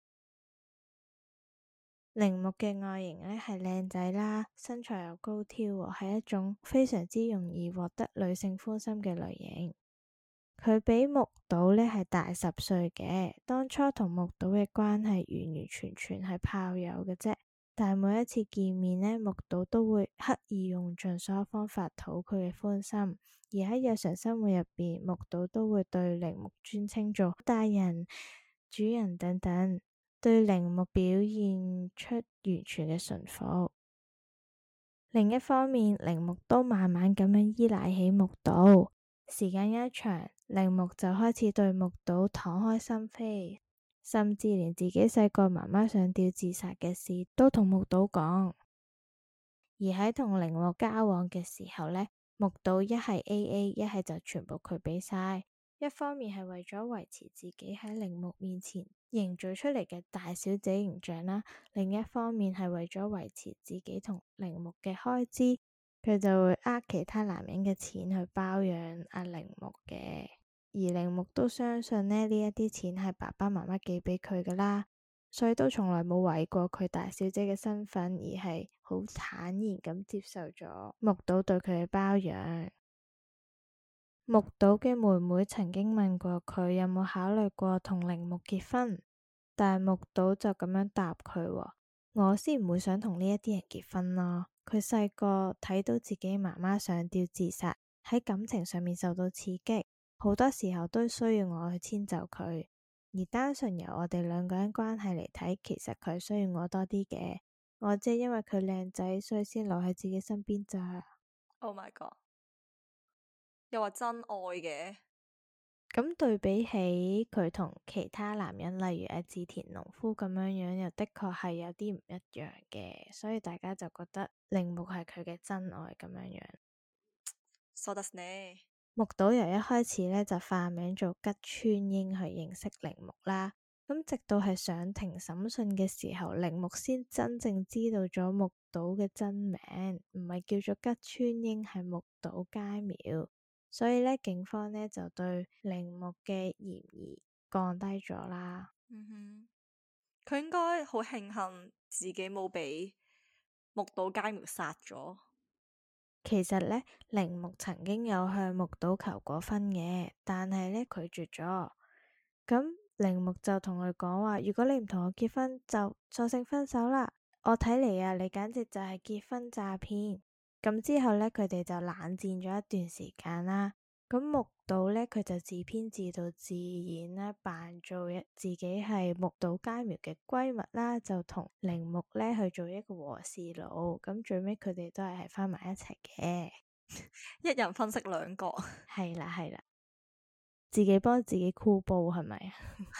鈴木嘅外形呢係靚仔啦，身材又高挑，係一種非常之容易獲得女性歡心嘅類型。佢比木島呢係大十歲嘅，當初同木島嘅關係完完全全係炮友嘅啫。但係每一次見面呢，木島都會刻意用盡所有方法討佢嘅歡心，而喺日常生活入邊，木島都會對鈴木尊稱做大人、主人等等，對鈴木表現出完全嘅順服。另一方面，鈴木都慢慢咁樣依賴起木島，時間一長，鈴木就開始對木島敞開心扉。甚至連自己細個媽媽上吊自殺嘅事都同木島講。而喺同鈴木交往嘅時候呢，木島一係 A A， 一係就全部佢俾晒。一方面係為咗維持自己喺鈴木面前營造出嚟嘅大小姐形象啦，另一方面係為咗維持自己同鈴木嘅開支，佢就會呃其他男人嘅錢去包養阿鈴木嘅。而鈴木都相信呢，呢一啲錢係爸爸媽媽寄俾佢噶啦，所以都從來冇懷疑過佢大小姐嘅身份，而係好坦然咁接受咗木島對佢嘅包養。木島嘅妹妹曾經問過佢有冇考慮過同鈴木結婚，但係木島就咁樣答佢：我先唔會想同呢一啲人結婚咯。佢細個睇到自己媽媽上吊自殺，喺感情上面受到刺激。好多時候都需要我去遷就佢，而單純由我哋兩個人關係嚟睇，其實佢需要我多啲嘅。我只係因為佢靚仔，所以先留喺自己身邊咋。 Oh my god！又話真愛嘅。 咁對比起佢同其他男人，例如阿志田農夫咁樣樣，又的確係有啲唔一樣嘅，所以大家就覺得鈴木係佢嘅真愛咁樣樣。 そうですね。 木島由一開始呢就化名做吉川英去認識鈴木啦，咁直到係上庭審訊嘅時候，鈴木先真正知道咗木島嘅真名，唔係叫做吉川英，係木島佳苗，所以呢，警方呢就對鈴木嘅嫌疑降低咗啦。 嗯哼，佢應該好慶幸自己冇俾木島佳苗殺咗。 其實呢，鈴木曾經有向木島求過婚嘅，但係呢拒絕咗。咁鈴木就同佢講話：如果你唔同我結婚，就索性分手啦。我睇嚟啊，你簡直就係結婚詐騙。咁之後呢，佢哋就冷戰咗一段時間啦。咁木島呢，佢就自編自導自演啦，扮做一自己係木島佳苗嘅閨蜜啦，就同鈴木呢去做一個和事佬。咁最尾佢哋都係係翻埋一齊嘅， 一人分飾兩角。 係啦係啦，自己幫自己箍煲係咪啊？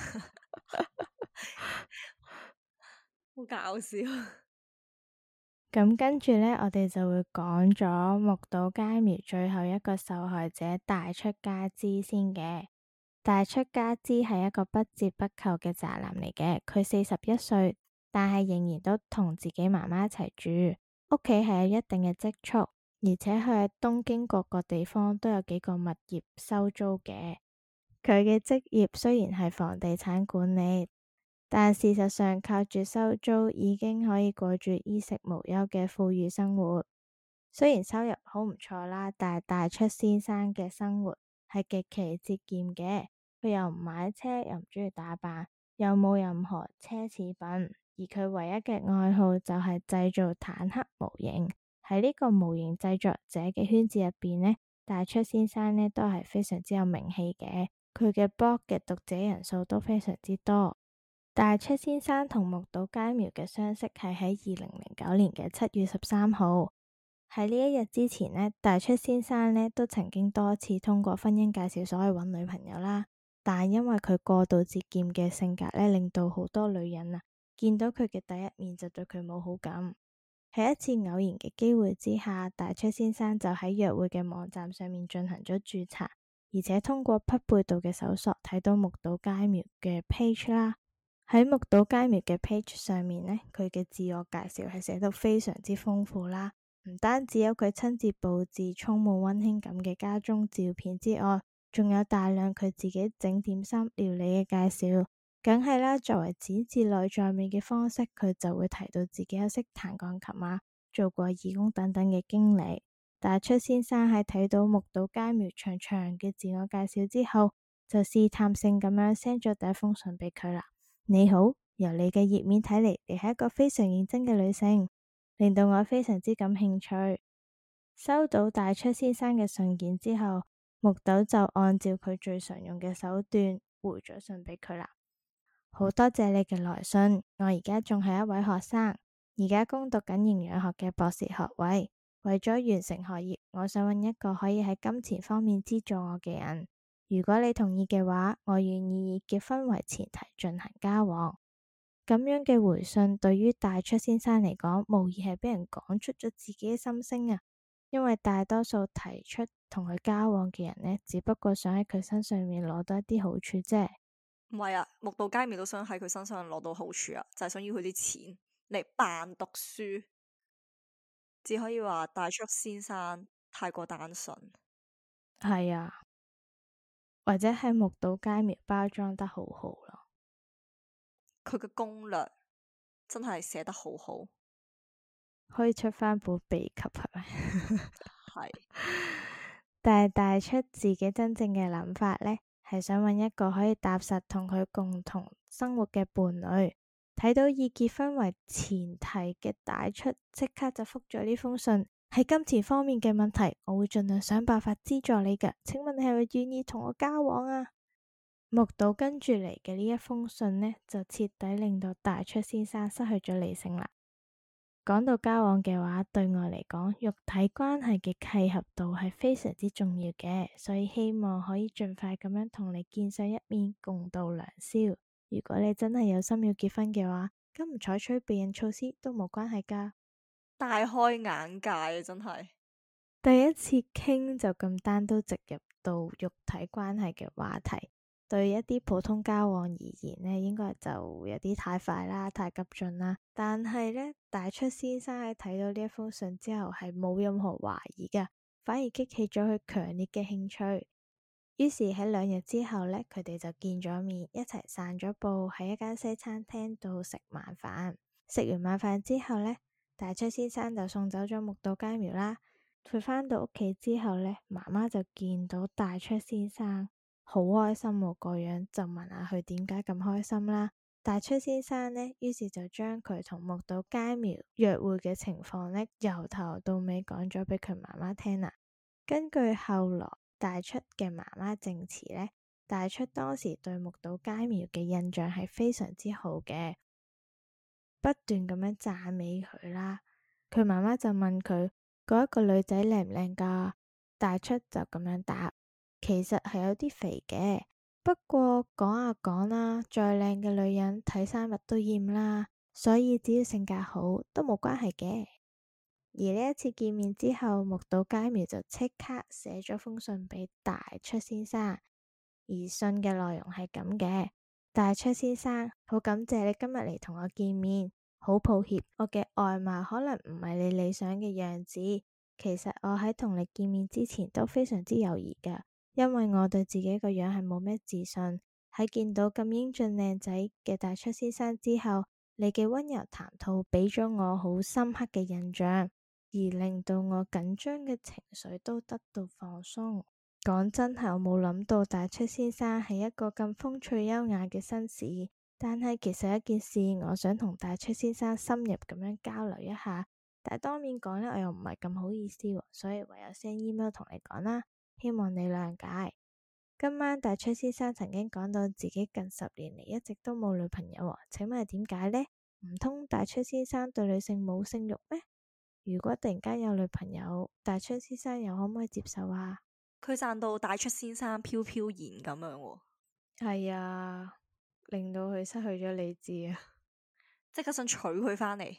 好搞笑。 咁跟住呢，我哋就會講咗木島佳苗最後一個受害者大出家之先嘅。大出家之係一個不折不扣嘅宅男嚟嘅，佢四十一歲，但係仍然都同自己媽媽一齊住，屋企係有一定嘅積蓄，而且佢喺東京各個地方都有幾個物業收租嘅。佢嘅職業雖然係房地產管理，但事實上靠住收租已經可以過住衣食無憂嘅富裕生活。雖然收入好唔錯啦，但係大出先生嘅生活係極其節儉嘅。 佢又唔買車，又唔中意打扮，又冇任何奢侈品，而佢唯一嘅愛好就係製造坦克模型。喺呢個模型製作者嘅圈子入邊呢，大出先生呢都係非常之有名氣嘅，佢嘅 blog 嘅讀者人數都非常之多。大出先生同木島佳苗嘅相識係喺二零零九年嘅七月十三號。喺呢一日之前呢，大出先生呢都曾經多次通過婚姻介紹所去揾女朋友啦，但係因為佢過度節儉嘅性格呢，令到好多女人啊見到佢嘅第一面就對佢冇好感。喺一次偶然嘅機會之下，大出先生就喺約會嘅網站上面進行咗註冊，而且通過匹配度嘅搜索睇到木島佳苗嘅 page 啦。喺木島佳苗嘅 page 上面呢，佢嘅自我介紹係寫到非常之豐富啦，唔單止有佢親自佈置充滿溫馨感嘅家中照片之外，仲有大量佢自己整點心料理嘅介紹。梗係啦，作為展示內在美嘅方式，佢就會提到自己有識彈鋼琴啊，做過義工等等嘅經歷。大出先生喺睇到木島佳苗長長嘅自我介紹之後，就試探性咁樣 send 咗第一封信俾佢啦。你好，由你嘅頁面睇嚟，你係一個非常認真嘅女性，令到我非常之感興趣。收到大出先生嘅信件之後，木島就按照佢最常用嘅手段回咗信俾佢啦。好多謝你嘅來信，我而家仲係一位學生，而家攻讀緊營養學嘅博士學位。為咗完成學業，我想揾一個可以喺金錢方面資助我嘅人。如果你同意嘅話，我願意以結婚為前提進行交往。咁樣嘅回信對於大出先生嚟講，無疑係俾人講出咗自己嘅心聲啊！因為大多數提出同佢交往嘅人呢，只不過想喺佢身上面攞到一啲好處啫。 唔係啊，木島佳苗都想喺佢身上攞到好處啊，就係想要佢啲錢嚟扮讀書。只可以話大出先生太過單純。 係啊，或者係木島佳苗包裝得好好咯。 佢嘅攻略真係寫得好好， 可以出翻本秘笈係咪？ 係。 但係大出自己真正嘅諗法呢，係想揾一個可以踏實同佢共同生活嘅伴侶。睇到以結婚為前提嘅大出，即刻就覆咗呢封信。喺金錢方面嘅問題，我會盡量想辦法資助你㗎。請問你係咪願意同我交往啊？木島跟住嚟嘅呢一封信呢，就徹底令到大出先生失去咗理性啦。講到交往嘅話，對我嚟講，肉體關係嘅契合度係非常之重要嘅，所以希望可以盡快咁樣同你見上一面，共度良宵。如果你真係有心要結婚嘅話，咁唔採取避孕措施都冇關係噶。 大開眼界啊！真係第一次傾就咁單刀直入到肉體關係嘅話題，對一啲普通交往而言呢，應該就有啲太快啦，太急進啦。但係呢，大出先生喺睇到呢一封信之後，係冇任何懷疑噶，反而激起咗佢強烈嘅興趣。於是喺兩日之後呢，佢哋就見咗面，一齊散咗步，喺一間西餐廳度食晚飯。食完晚飯之後呢，大出先生就送走咗木島佳苗啦。佢返到屋企之後呢，媽媽就見到大出先生好開心喎，個樣就問下佢點解咁開心啦。大出先生呢，於是就將佢同木島佳苗約會嘅情況呢，由頭到尾講咗俾佢媽媽聽啦。根據後來大出嘅媽媽證詞呢，大出當時對木島佳苗嘅印象係非常之好嘅，不斷咁樣讚美佢啦。佢媽媽就問佢嗰一個女仔靚唔靚噶？大出就咁樣答，其實係有啲肥嘅，不過講下講啦，再靚嘅女人睇三日都厭啦，所以只要性格好都冇關係嘅。而呢一次見面之後，木島佳苗就即刻寫咗封信俾大出先生，而信嘅內容係咁嘅：大出先生，好感謝你今日嚟同我見面，好抱歉我嘅外貌可能唔係你理想嘅樣子。其實我喺同你見面之前都非常之猶豫噶，因為我對自己個樣係冇咩自信。喺見到咁英俊靚仔嘅大出先生之後，你嘅溫柔談吐俾咗我好深刻嘅印象，而令到我緊張嘅情緒都得到放鬆。 講真係我冇諗到大出先生係一個咁風趣優雅嘅紳士，但係其實一件事我想同大出先生深入咁樣交流一下，但係當面講呢，我又唔係咁好意思，所以唯有 send email 同你講啦，希望你諒解。今晚大出先生曾經講到自己近十年嚟一直都冇女朋友，請問係點解呢？唔通大出先生對女性冇性慾咩？如果突然間有女朋友，大出先生又可唔可以接受啊？ 佢讚到大出先生飄飄然咁樣喎。 係啊，令到佢失去咗理智啊！ 即刻想娶佢返嚟。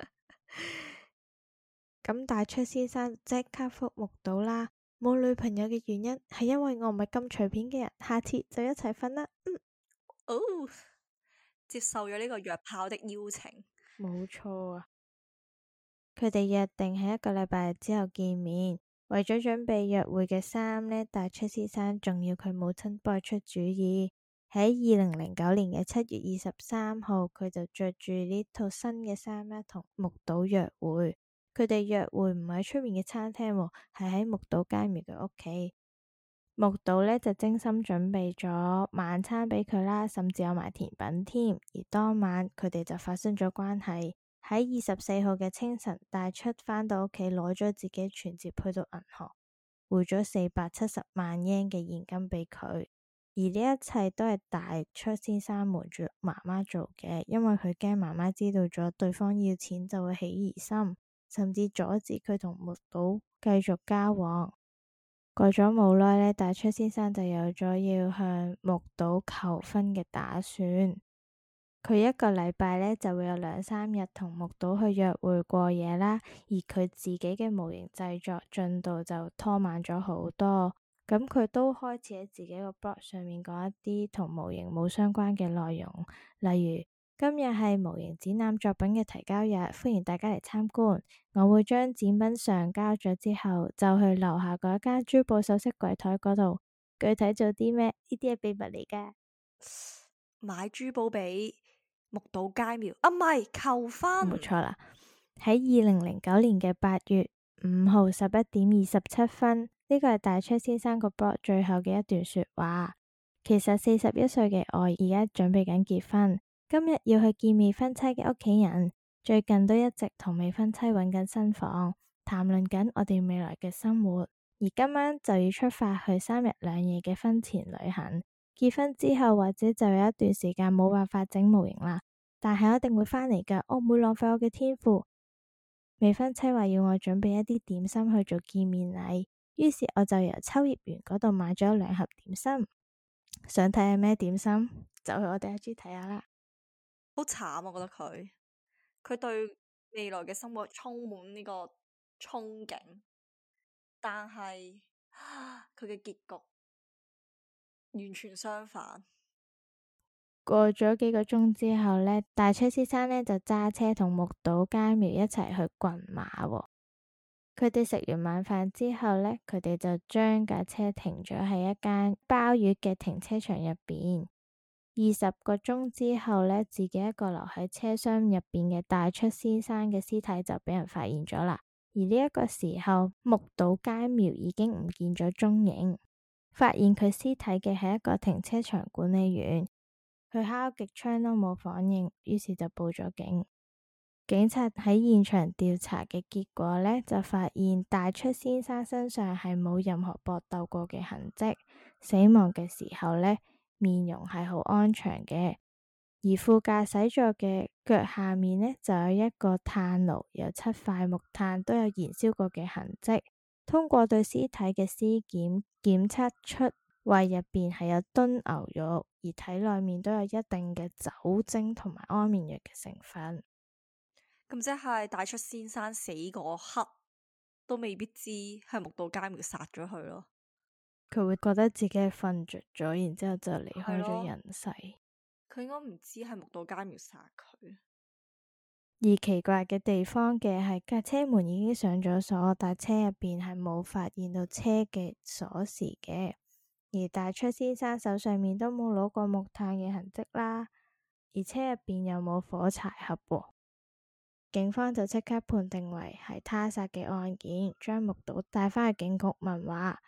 咁大出先生即刻覆目睹啦。冇女朋友嘅原因係因為我唔係咁隨便嘅人，下次就一齊瞓啦。嗯， 哦，接受咗呢個約炮的邀請。 冇錯啊！佢哋約定喺一個禮拜之後見面，為咗準備約會嘅衫呢，大出先生仲要佢母親幫佢出主意。喺二零零九年嘅七月二十三號，佢就着住呢套新嘅衫呢，同木島約會。佢哋約會唔係喺出面嘅餐廳，係喺木島佳苗嘅屋企。木島呢就精心準備咗晚餐俾佢啦，甚至有埋甜品添。而當晚佢哋就發生咗關係。喺二十四號嘅清晨，大出返到屋企攞咗自己存摺去到銀行匯咗四百七十萬日圓嘅現金俾佢。而呢一切都係大出先生瞞住媽媽做嘅，因為佢驚媽媽知道咗對方要錢就會起疑心。甚至阻止佢同木島繼續交往。過咗冇耐呢，大出先生就有咗要向木島求婚嘅打算。佢一個禮拜呢就會有兩三日同木島去約會過夜啦，而佢自己嘅模型製作進度就拖慢咗好多。咁佢都開始喺自己個 blog 上面講一啲同模型冇相關嘅內容，例如，今日係模型展覽作品嘅提交日，歡迎大家嚟參觀。我會將展品上交咗之後，就去樓下嗰間珠寶首飾櫃台嗰度。具體做啲咩？呢啲係秘密嚟噶。 買珠寶俾木島佳苗啊，唔係求婚。 冇錯啦。喺二零零九年嘅八月五號十一點二十七分，呢個係大出先生個 blog 最後嘅一段說話。其實四十一歲嘅我而家準備緊結婚。今日要去見未婚妻嘅屋企人，最近都一直同未婚妻揾緊新房，談論緊我哋未來嘅生活。而今晚就要出發去三日兩夜嘅婚前旅行。結婚之後或者就有一段時間冇辦法整模型啦，但係我一定會返嚟噶，我唔會浪費我嘅天賦。未婚妻話要我準備一啲點心去做見面禮，於是我就由秋葉原嗰度買咗兩盒點心。想睇下咩點心，就去我哋 I G 睇下啦。 好慘，我覺得佢佢對未來嘅生活充滿呢個憧憬，但係佢嘅結局完全相反。 過咗幾個鐘之後呢，大出先生呢就揸車同木島佳苗一齊去群馬喎。佢哋食完晚飯之後呢，佢哋就將架車停咗喺一間鮑魚嘅停車場入邊。二十個鐘之後呢，自己一個留喺車廂入邊嘅大出先生嘅屍體就俾人發現咗啦。而呢一個時候，木島佳苗已經唔見咗蹤影。發現佢屍體嘅係一個停車場管理員，佢敲極窗都冇反應，於是就報咗警。警察喺現場調查嘅結果呢，就發現大出先生身上係冇任何搏鬥過嘅痕跡，死亡嘅時候呢，面容係好安詳嘅，而副駕駛座嘅腳下面呢，就有一個炭爐，有七塊木炭都有燃燒過嘅痕跡。通過對屍體嘅屍檢檢測出胃入邊係有燉牛肉，而體內面都有一定嘅酒精同埋安眠藥嘅成分。 咁即係大出先生死嗰刻都未必知係木島佳苗殺咗佢咯。 佢會覺得自己係瞓着咗，然之後就離開咗人世。 佢應該唔知係木島佳苗殺佢。 而奇怪嘅地方嘅係架車門已經上咗鎖，但車入邊係冇發現到車嘅鎖匙嘅。而大出先生手上面都冇攞過木炭嘅痕跡啦，而車入邊又冇火柴盒喎。警方就即刻判定為係他殺嘅案件，將木島帶返去警局問話。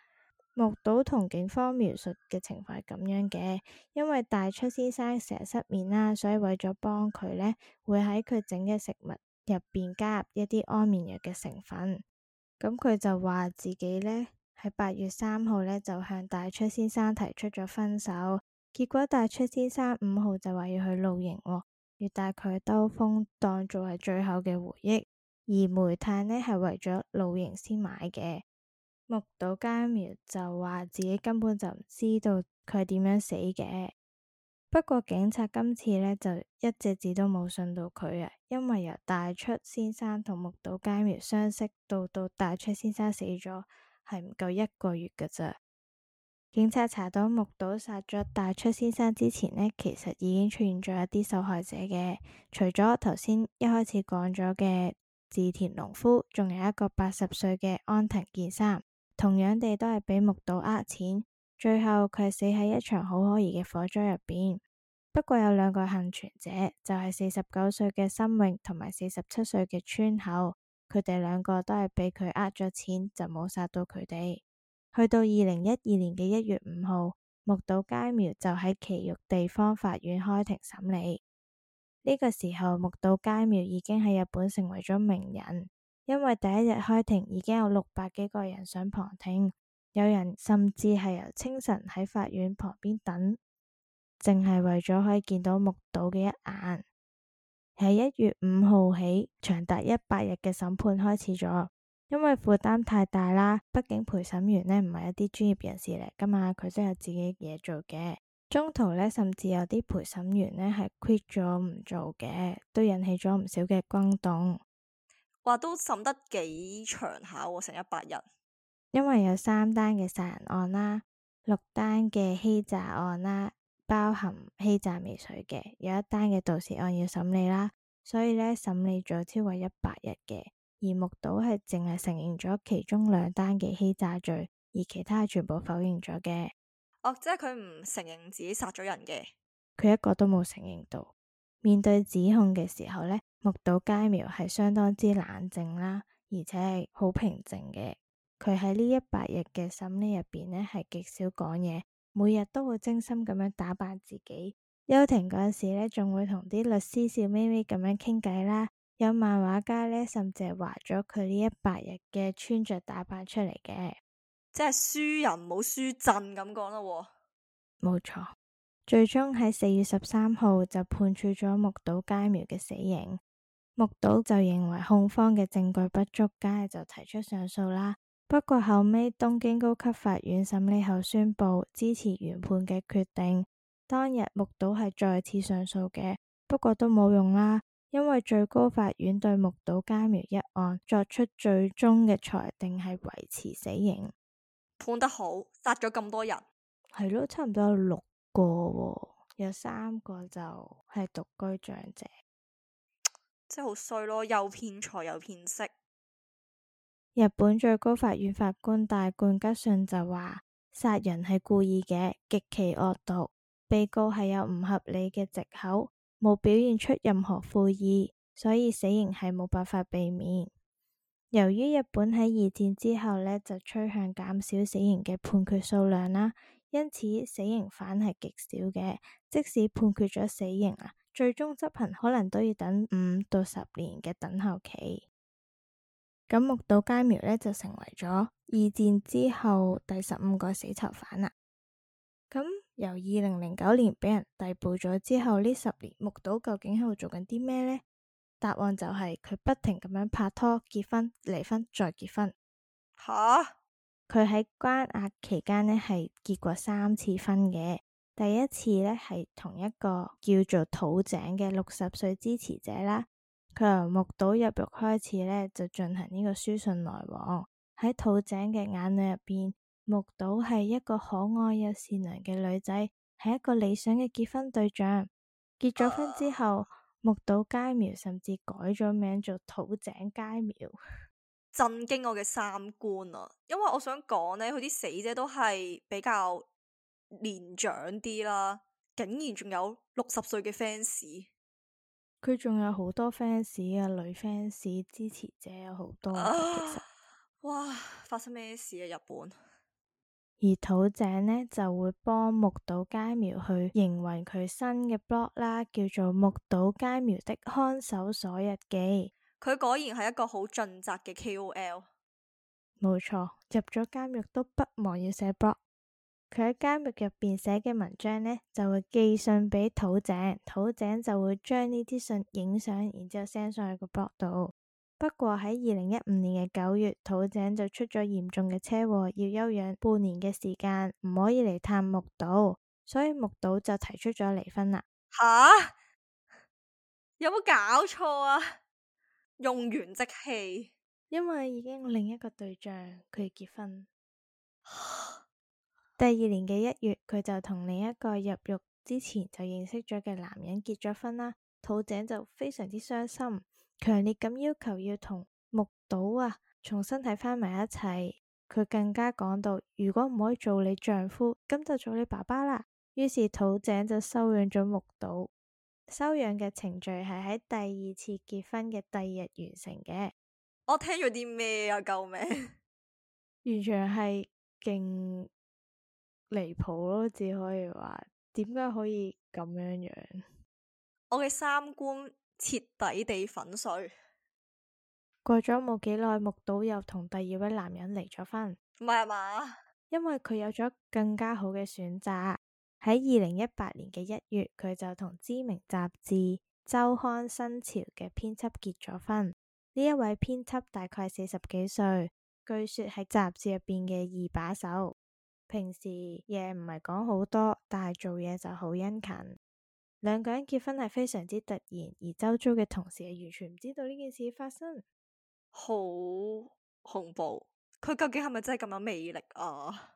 木島同警方描述嘅情況係咁樣嘅，因為大出先生成日失眠啦，所以為咗幫佢呢，會喺佢整嘅食物入邊加入一啲安眠藥嘅成分。咁佢就話自己呢，喺八月三號呢，就向大出先生提出咗分手，結果大出先生五號就話要去露營喎，要帶佢兜風當做係最後嘅回憶，而煤炭呢，係為咗露營先買嘅。木島佳苗就話自己根本就唔知道佢係點樣死嘅，不過警察今次呢，就一隻字都冇信到佢啊，因為由大出先生同木島佳苗相識到到大出先生死咗係唔夠一個月㗎咋。警察查到木島殺咗大出先生之前呢，其實已經出現咗一啲受害者嘅，除咗頭先一開始講咗嘅志田農夫，仲有一個八十歲嘅安藤健三。同樣地都係俾木島呃錢，最後佢係死喺一場好可疑嘅火災入邊。不過有兩個幸存者，就係四十九歲嘅森永同埋四十七歲嘅川口，佢哋兩個都係俾佢呃咗錢，就冇殺到佢哋。去到二零一二年嘅一月五號，木島佳苗就喺埼玉地方法院開庭審理。呢個時候，木島佳苗已經喺日本成為咗名人。因為第一日開庭已經有六百幾個人上旁聽，有人甚至係由清晨喺法院旁邊等，淨係為咗可以見到木島嘅一眼。喺一月五號起，長達一百日嘅審判開始咗，因為負擔太大啦，畢竟陪審員呢唔係一啲專業人士嚟噶嘛，佢都有自己嘢做嘅。中途呢，甚至有啲陪審員呢係 quit 咗唔做嘅，都引起咗唔少嘅轟動。 話都審得幾長下喎，成一百日。 因為有三單嘅殺人案啦，六單嘅欺詐案啦，包含欺詐未遂嘅，有一單嘅盜竊案要審理啦，所以呢，審理咗超過一百日嘅。而木島係淨係承認咗其中兩單嘅欺詐罪，而其他係全部否認咗嘅。 哦，即係佢唔承認自己殺咗人嘅， 佢一個都冇承認到。面對指控嘅時候呢，木島佳苗係相當之冷靜啦，而且係好平靜嘅。佢喺呢一百日嘅審理入邊呢，係極少講嘢，每日都會精心咁樣打扮自己。休庭嗰陣時呢，仲會同啲律師笑眯眯咁樣傾偈啦。有漫畫家呢，甚至係畫咗佢呢一百日嘅穿着打扮出嚟嘅， 即係輸人冇輸陣咁講咯。 冇錯。最終喺四月十三號就判處咗木島佳苗嘅死刑。木島就認為控方嘅證據不足，梗係就提出上訴啦。不過後尾東京高級法院審理後宣布支持原判嘅決定。當日木島係再次上訴嘅，不過都冇用啦，因為最高法院對木島佳苗一案作出最終嘅裁定係維持死刑。 判得好，殺咗咁多人， 係咯，差唔多有六個喎，有三個就係獨居長者， 真係好衰咯，又騙財又騙色。 日本最高法院法官大貫吉信就話，殺人係故意嘅，極其惡毒，被告係有唔合理嘅藉口，冇表現出任何悔意，所以死刑係冇辦法避免。由於日本喺二戰之後呢，就趨向減少死刑嘅判決數量啦，因此死刑犯係極少嘅，即使判決咗死刑啊，最終執行可能都要等五到十年嘅等候期。咁木島佳苗呢，就成為咗二戰之後第十五個死囚犯啦。咁由二零零九年俾人逮捕咗之後，呢十年木島究竟喺度做緊啲咩呢？答案就係佢不停咁樣拍拖、結婚、離婚再結婚。 吓？ 佢喺關押期間呢，係結過三次婚嘅。第一次呢，係同一個叫做土井嘅六十歲支持者啦。佢由木島入獄開始呢，就進行呢個書信來往。喺土井嘅眼裏入邊，木島係一個可愛又善良嘅女仔，係一個理想嘅結婚對象。結咗婚之後，木島佳苗甚至改咗名做土井佳苗， 震驚我嘅三觀啊！因為我想講呢，佢啲死者都係比較年長啲啦，竟然仲有六十歲嘅 fans。 佢仲有好多 fans 啊，女 fans 支持者有好多嘅，其實。 哇！發生咩事啊？日本而土井呢就會幫木島佳苗去營運佢新嘅 blog 啦，叫做木島佳苗的看守所日記。 佢果然係一個好盡責嘅 K O L。 冇錯，入咗監獄都不忘要寫 blog。佢喺監獄入邊寫嘅文章呢，就會寄信俾土井，土井就會將呢啲信影相，然之後 send 上去個 blog 度。不過喺二零一五年嘅九月，土井就出咗嚴重嘅車禍，要休養半年嘅時間，唔可以嚟探木島，所以木島就提出咗離婚啦。 吓？有冇搞錯啊？用完即棄。 因為已經有另一個對象，佢要結婚。第二年嘅一月，佢就同另一個入獄之前就認識咗嘅男人結咗婚啦。土井就非常之傷心，強烈咁要求要同木島啊重新睇翻埋一齊。佢更加講到，如果唔可以做你丈夫，咁就做你爸爸啦。於是土井就收養咗木島。收養嘅程序係喺第二次結婚嘅第二日完成嘅。 我聽咗啲咩啊？救命！ 完全係勁離譜咯，只可以話點解可以咁樣樣？ 我嘅三觀徹底地粉碎。 過咗冇幾耐，木島又同第二位男人離咗婚。 唔係啊嘛？ 因為佢有咗更加好嘅選擇。喺二零一八年嘅一月，佢就同知名雜誌週刊新潮嘅編輯結咗婚。呢一位編輯大概四十幾歲，據說係雜誌入邊嘅二把手。平時嘢唔係講好多，但係做嘢就好殷勤。兩個人結婚係非常之突然，而周遭嘅同事係完全唔知道呢件事發生。 好恐怖！佢究竟係咪真係咁有魅力啊？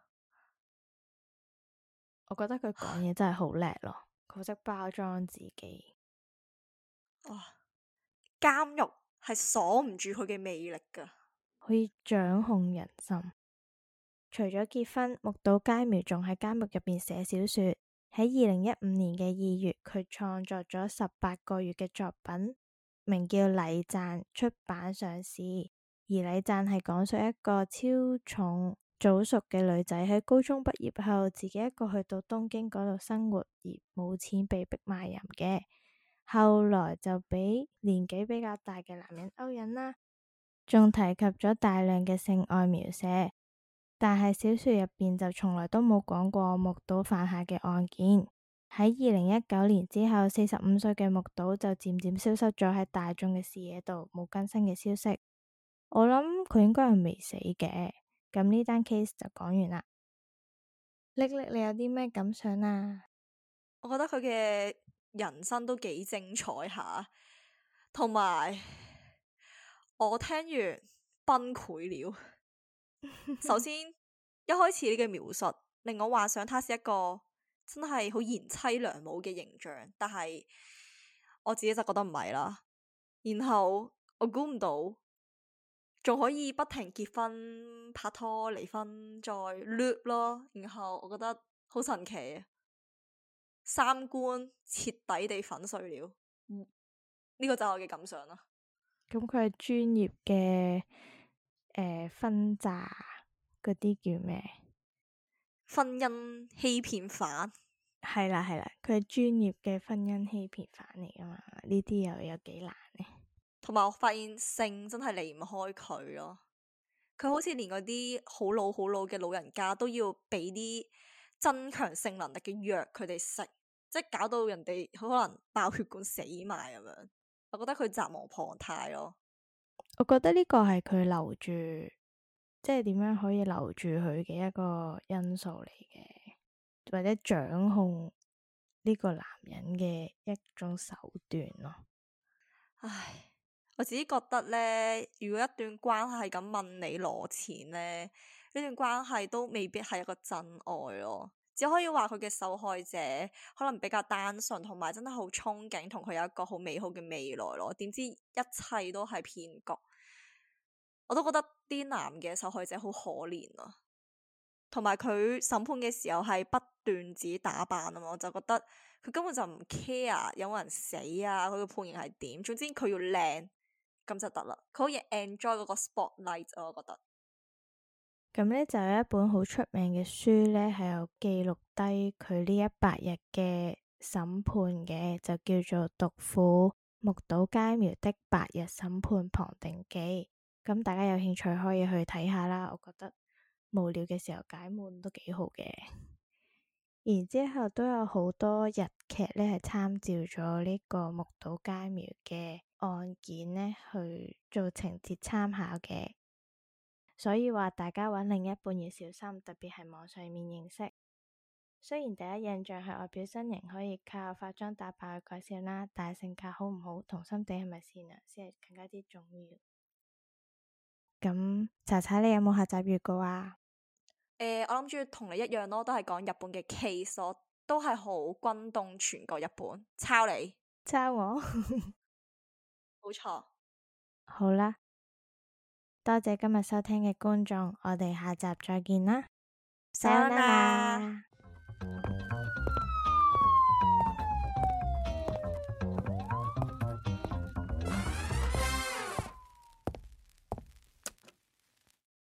我覺得佢講嘢真係好叻咯，佢好識包裝自己。 哇！監獄係鎖唔住佢嘅魅力噶， 可以掌控人心。除咗結婚，木島佳苗仲喺監獄入邊寫小說。喺二零一五年嘅二月，佢創作咗十八個月嘅作品，名叫《禮讚》，出版上市。而《禮讚》係講述一個超重早熟嘅女仔喺高中畢業後，自己一個去到東京嗰度生活，而冇錢被逼賣淫嘅。後來就俾年紀比較大嘅男人勾引啦，仲提及咗大量嘅性愛描寫。但係小說入邊就從來都冇講過木島犯下嘅案件。喺二零一九年之後，四十五歲嘅木島就漸漸消失咗喺大眾嘅視野度，冇更新嘅消息。我諗佢應該係未死嘅。咁呢單 case 就講完啦。瀝瀝，你有啲咩感想啊？ 我覺得佢嘅人生都幾精彩下，同埋我聽完崩潰了。首先，一開始呢個描述令我幻想他是一個真係好賢妻良母嘅形象，但係我自己就覺得唔係啦。然後我估唔到仲可以不停結婚、拍拖、離婚再 loop 咯。然後我覺得好神奇，三觀徹底地粉碎了。呢、這個就係我嘅感想啦。 咁佢係專業嘅誒分詐嗰啲叫咩？ 婚姻欺騙犯。 係啦係啦，佢係專業嘅婚姻欺騙犯嚟噶嘛？呢啲又有幾難呢？ 同埋我發現性真係離唔開佢咯。佢好似連嗰啲好老好老嘅老人家都要俾啲增強性能力嘅藥佢哋食，即係搞到人哋可能爆血管死埋咁樣。我覺得佢責無旁貸咯。 我覺得呢個係佢留住，即係點樣可以留住佢嘅一個因素嚟嘅，或者掌控呢個男人嘅一種手段咯。 唉，我自己覺得呢，如果一段關係係咁問你攞錢呢，呢段關係都未必係一個真愛咯。只可以話佢嘅受害者可能比較單純，同埋真係好憧憬同佢有一個好美好嘅未來咯。點知一切都係騙局，我都覺得啲男嘅受害者好可憐啊。同埋佢審判嘅時候係不斷自己打扮啊嘛，我就覺得佢根本就唔 care 有冇人死啊，佢嘅判刑係點，總之佢要靚咁就得啦。佢可以 enjoy 嗰個 spotlight，我覺得。 咁呢就有一本好出名嘅書呢，係有記錄低佢呢一百日嘅審判嘅，就叫做《毒婦木島佳苗的百日審判旁聽記》。咁大家有興趣可以去睇下啦，我覺得無聊嘅時候解悶都幾好嘅。然之後都有好多日劇呢，係參照咗呢個木島佳苗嘅案件呢去做情節參考嘅。所以話大家揾另一半要小心，特別係網上面認識。雖然第一印象係外表身形可以靠化妝打扮去改善啦，但係性格好唔好同心地係咪善良先係更加之重要。咁查查你有冇下集預告啊？ 誒、呃，我諗住同你一樣咯，都係講日本嘅 case 咯，都係好轟動全個日本。抄你， 抄我， 冇錯。 好啦。多謝今日收聽嘅觀眾，我哋下集再見啦， さよなら。